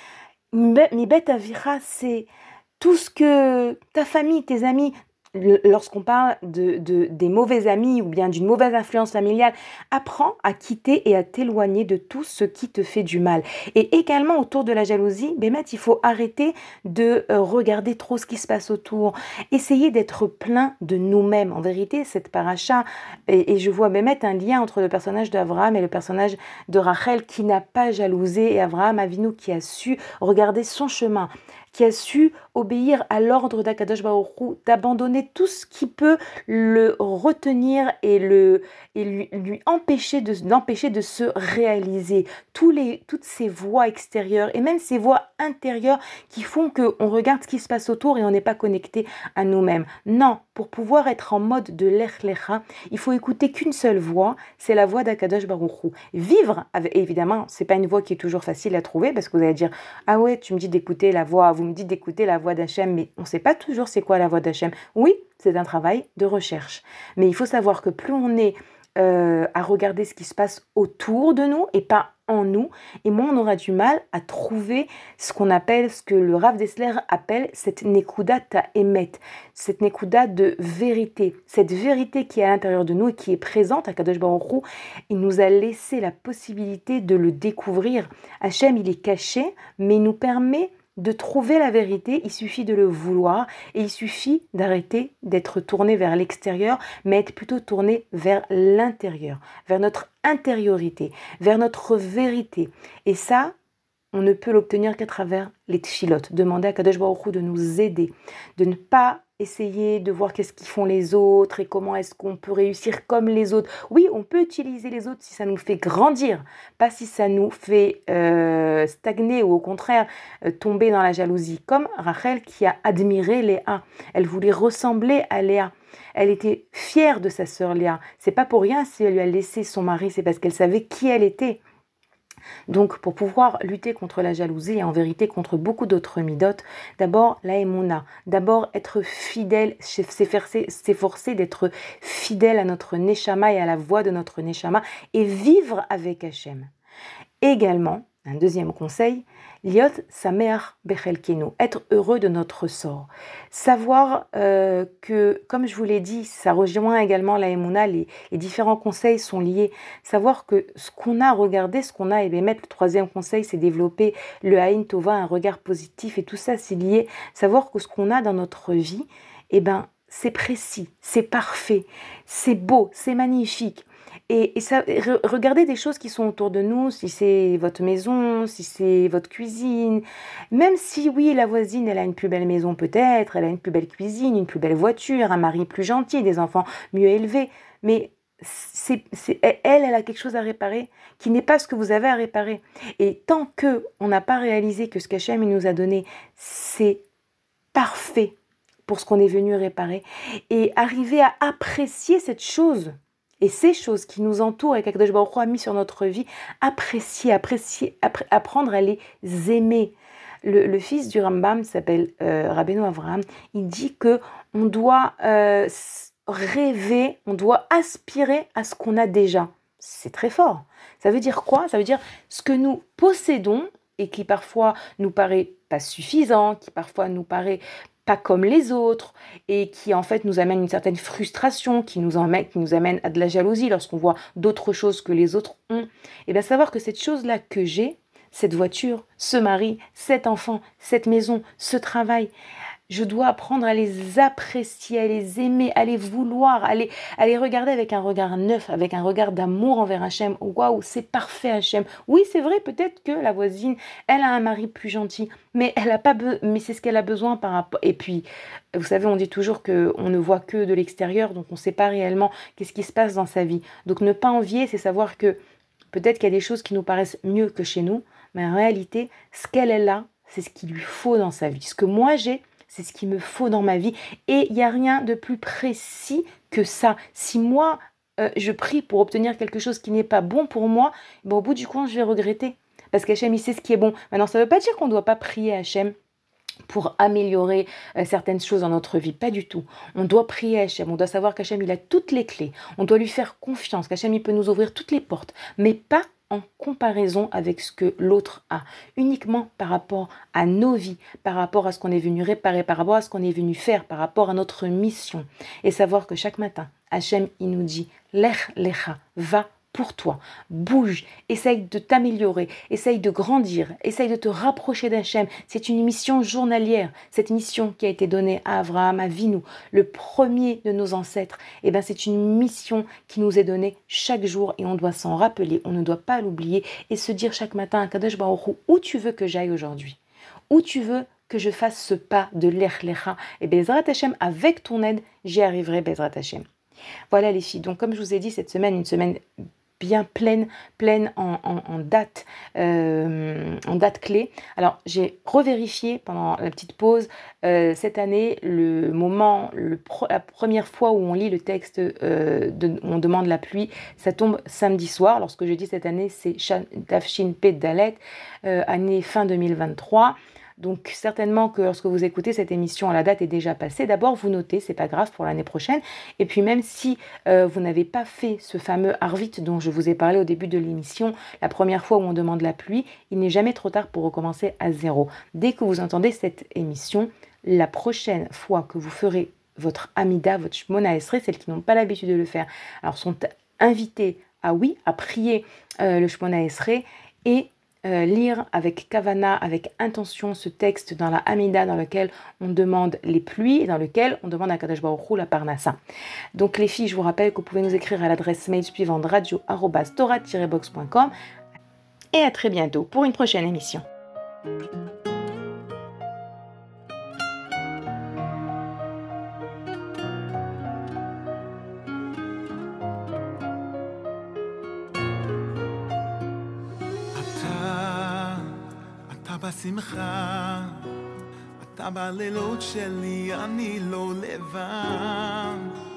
Mi bet avira, c'est tout ce que ta famille, tes amis, lorsqu'on parle de, de, des mauvais amis ou bien d'une mauvaise influence familiale, apprends à quitter et à t'éloigner de tout ce qui te fait du mal. Et également autour de la jalousie, Bémet, il faut arrêter de euh, regarder trop ce qui se passe autour. Essayer d'être plein de nous-mêmes. En vérité, cette paracha, et, et je vois Bémet un lien entre le personnage d'Avraham et le personnage de Rachel qui n'a pas jalousé, et Avraham Avinu qui a su regarder son chemin, qui a su obéir à l'ordre d'Akadosh Baruch Hu, d'abandonner tout ce qui peut le retenir et, le, et lui, lui empêcher de, l'empêcher de se réaliser. Tous les, toutes ces voies extérieures et même ces voies intérieures qui font qu'on regarde ce qui se passe autour et on n'est pas connecté à nous-mêmes. Non, pour pouvoir être en mode de l'Ech Lecha, il faut écouter qu'une seule voix, c'est la voix d'Akadosh Baruch Hu. Vivre, avec, évidemment, c'est pas une voix qui est toujours facile à trouver parce que vous allez dire « Ah ouais, tu me dis d'écouter la voix, vous me dites d'écouter la voix d'Hachem, mais on ne sait pas toujours c'est quoi la voix d'Hachem. » Oui, c'est un travail de recherche. Mais il faut savoir que plus on est euh, à regarder ce qui se passe autour de nous et pas en nous, et moins on aura du mal à trouver ce qu'on appelle, ce que le Rav Dessler appelle cette nekuda ta'emet, cette nekuda de vérité, cette vérité qui est à l'intérieur de nous et qui est présente à Kadosh Baruch Hu. Il nous a laissé la possibilité de le découvrir. Hachem, il est caché, mais il nous permet de trouver la vérité, il suffit de le vouloir et il suffit d'arrêter d'être tourné vers l'extérieur, mais être plutôt tourné vers l'intérieur, vers notre intériorité, vers notre vérité. Et ça, on ne peut l'obtenir qu'à travers les tfilotes. Demander à Kadosh Baruch Hu de nous aider, de ne pas essayer de voir qu'est-ce qu'ils font les autres et comment est-ce qu'on peut réussir comme les autres. Oui, on peut utiliser les autres si ça nous fait grandir, pas si ça nous fait euh, stagner ou au contraire euh, tomber dans la jalousie. Comme Rachel qui a admiré Léa. Elle voulait ressembler à Léa. Elle était fière de sa sœur Léa. C'est pas pour rien si elle lui a laissé son mari, c'est parce qu'elle savait qui elle était. Donc, pour pouvoir lutter contre la jalousie et en vérité contre beaucoup d'autres midotes, d'abord la émouna, d'abord être fidèle, s'efforcer, s'efforcer d'être fidèle à notre neshama et à la voix de notre neshama et vivre avec Hachem. Également, un deuxième conseil, liot sameach bechelkenu, être heureux de notre sort. Savoir euh, que, comme je vous l'ai dit, ça rejoint également la Emouna, les, les différents conseils sont liés. Savoir que ce qu'on a regardé, ce qu'on a aimé mettre, le troisième conseil, c'est développer le Haïn Tova, un regard positif, et tout ça, c'est lié. Savoir que ce qu'on a dans notre vie, eh ben, c'est précis, c'est parfait, c'est beau, c'est magnifique. Et, et ça, re, regardez des choses qui sont autour de nous, si c'est votre maison, si c'est votre cuisine. Même si, oui, la voisine, elle a une plus belle maison peut-être, elle a une plus belle cuisine, une plus belle voiture, un mari plus gentil, des enfants mieux élevés. Mais c'est, c'est, elle, elle a quelque chose à réparer qui n'est pas ce que vous avez à réparer. Et tant qu'on n'a pas réalisé que ce qu'Hachem nous a donné, c'est parfait pour ce qu'on est venu réparer, et arriver à apprécier cette chose, et ces choses qui nous entourent et qu'Akadosh Baruch Hu a mis sur notre vie, apprécier, apprécier, appré- apprendre à les aimer. Le, le fils du Rambam s'appelle euh, Rabbeinu Avraham, il dit que on doit euh, rêver, on doit aspirer à ce qu'on a déjà. C'est très fort. Ça veut dire quoi? Ça veut dire ce que nous possédons et qui parfois nous paraît pas suffisant, qui parfois nous paraît pas comme les autres, et qui en fait nous amène une certaine frustration, qui nous, emmène, qui nous amène à de la jalousie lorsqu'on voit d'autres choses que les autres ont. Et bien savoir que cette chose-là que j'ai, cette voiture, ce mari, cet enfant, cette maison, ce travail, je dois apprendre à les apprécier, à les aimer, à les vouloir, à les, à les regarder avec un regard neuf, avec un regard d'amour envers Hachem. Waouh, c'est parfait Hachem. Oui, c'est vrai, peut-être que la voisine, elle a un mari plus gentil, mais elle a pas, be- mais c'est ce qu'elle a besoin par rapport. Et puis, vous savez, on dit toujours que on ne voit que de l'extérieur, donc on ne sait pas réellement qu'est-ce qui se passe dans sa vie. Donc, ne pas envier, c'est savoir que peut-être qu'il y a des choses qui nous paraissent mieux que chez nous, mais en réalité, ce qu'elle est là, c'est ce qu'il lui faut dans sa vie. Ce que moi j'ai, c'est ce qu'il me faut dans ma vie. Et il n'y a rien de plus précis que ça. Si moi, euh, je prie pour obtenir quelque chose qui n'est pas bon pour moi, ben, au bout du compte, je vais regretter. Parce qu'Hachem, il sait ce qui est bon. Maintenant, ça ne veut pas dire qu'on ne doit pas prier à Hachem pour améliorer euh, certaines choses dans notre vie. Pas du tout. On doit prier à Hachem. On doit savoir qu'Hachem, il a toutes les clés. On doit lui faire confiance. Qu'Hachem, il peut nous ouvrir toutes les portes. Mais pas en comparaison avec ce que l'autre a, uniquement par rapport à nos vies, par rapport à ce qu'on est venu réparer, par rapport à ce qu'on est venu faire, par rapport à notre mission. Et savoir que chaque matin, Hachem, il nous dit « Lech lecha » va pour toi, bouge, essaye de t'améliorer, essaye de grandir, essaye de te rapprocher d'Hachem. C'est une mission journalière, cette mission qui a été donnée à Abraham, à Avinu, le premier de nos ancêtres. Et ben c'est une mission qui nous est donnée chaque jour et on doit s'en rappeler, on ne doit pas l'oublier et se dire chaque matin à Kadosh Baruch Hu, où tu veux que j'aille aujourd'hui, où tu veux que je fasse ce pas de l'Ech Lecha, et Bezrat Hachem, avec ton aide, j'y arriverai, Bezrat Hachem. Voilà les filles, donc comme je vous ai dit, cette semaine, une semaine bien pleine, pleine en, en, en date, euh, en date clé. Alors, j'ai revérifié pendant la petite pause euh, cette année le moment, le pro, la première fois où on lit le texte, euh, de, où on demande la pluie, ça tombe samedi soir. Lorsque je dis cette année, c'est Tafshin Pet Dalet, euh, année fin deux mille vingt-trois. Donc certainement que lorsque vous écoutez cette émission, la date est déjà passée. D'abord, vous notez, c'est pas grave pour l'année prochaine. Et puis même si euh, vous n'avez pas fait ce fameux Arvit dont je vous ai parlé au début de l'émission, la première fois où on demande la pluie, il n'est jamais trop tard pour recommencer à zéro. Dès que vous entendez cette émission, la prochaine fois que vous ferez votre Amida, votre Shmona Esrei, celles qui n'ont pas l'habitude de le faire, alors sont invitées à oui, à prier euh, le Shmona Esrei et Euh, lire avec kavana, avec intention ce texte dans la Hamida dans lequel on demande les pluies et dans lequel on demande à Kadosh Baruch Hu la parnassa. Donc les filles, je vous rappelle que vous pouvez nous écrire à l'adresse mail suivante radio arobase torah tiret box point com et à très bientôt pour une prochaine émission. בשמחה, אתה בלילות שלי, אני לא לבד.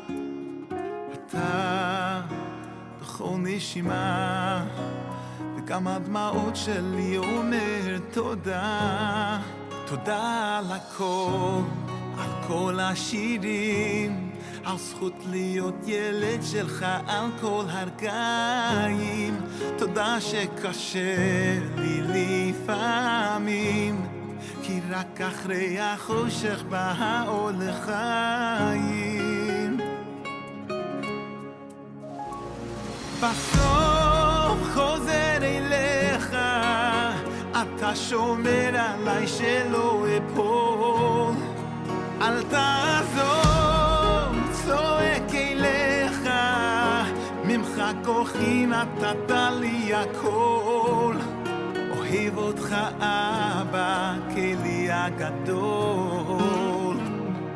אתה בכל נשימה, וגם הדמעות שלי אומר תודה. תודה על הכל, על כל השירים, על זכות להיות ילד שלך על כל הרגעים. תודה שקשה לי לפעמים, כי רק אחרי החושך בא האור לחיים. בסוף חוזר אליך, אתה שומר עליי שלא אפול. אל תעזוב, צועק אליך, ממך כוחי נתת לי הכל. אוהב אותך אבא, כלי הגדול.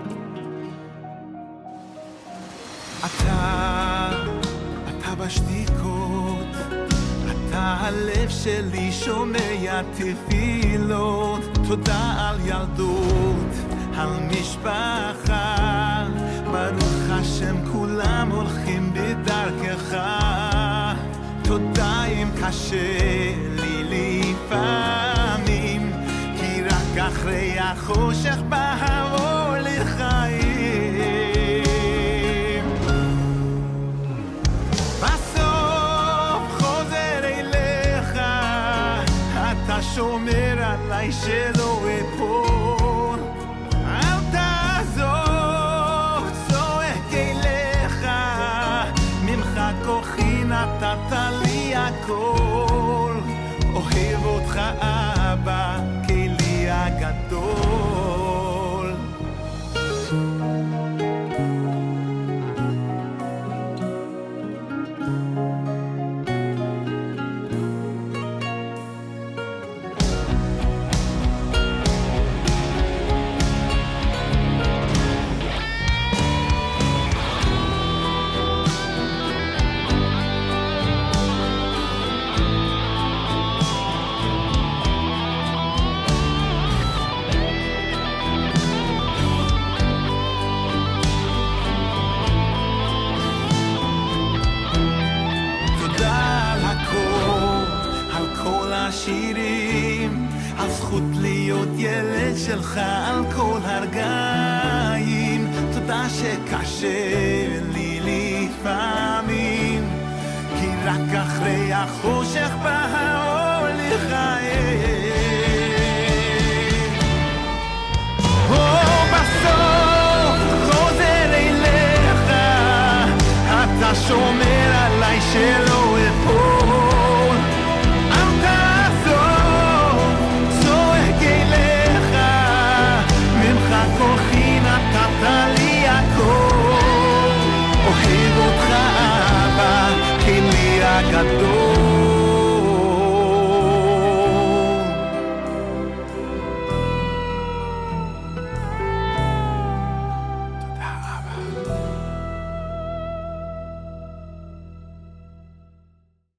אתה, אתה בשתיקות, אתה הלב שלי שומע תפילות. תודה על ילדות, על משפחה, ברוך השם כולם הולכים בדרכך. תודה אם קשה לי לפעמים, כי רק אחרי החושך בא האור לחיים. בסוף חוזר אליך, אתה שומר עליי שלא אפול. אל תעזוב, צועק אליך, ממך כוחי נתת לי הכל. אוהב אותך אבא, כלי הגדול. על זכות להיות ילד שלך על כל הרגעים. תודה שקשה לי לפעמים, כי רק אחרי החושך בא האור לחיים. בסוף חוזר אליך, אתה שומר עליי של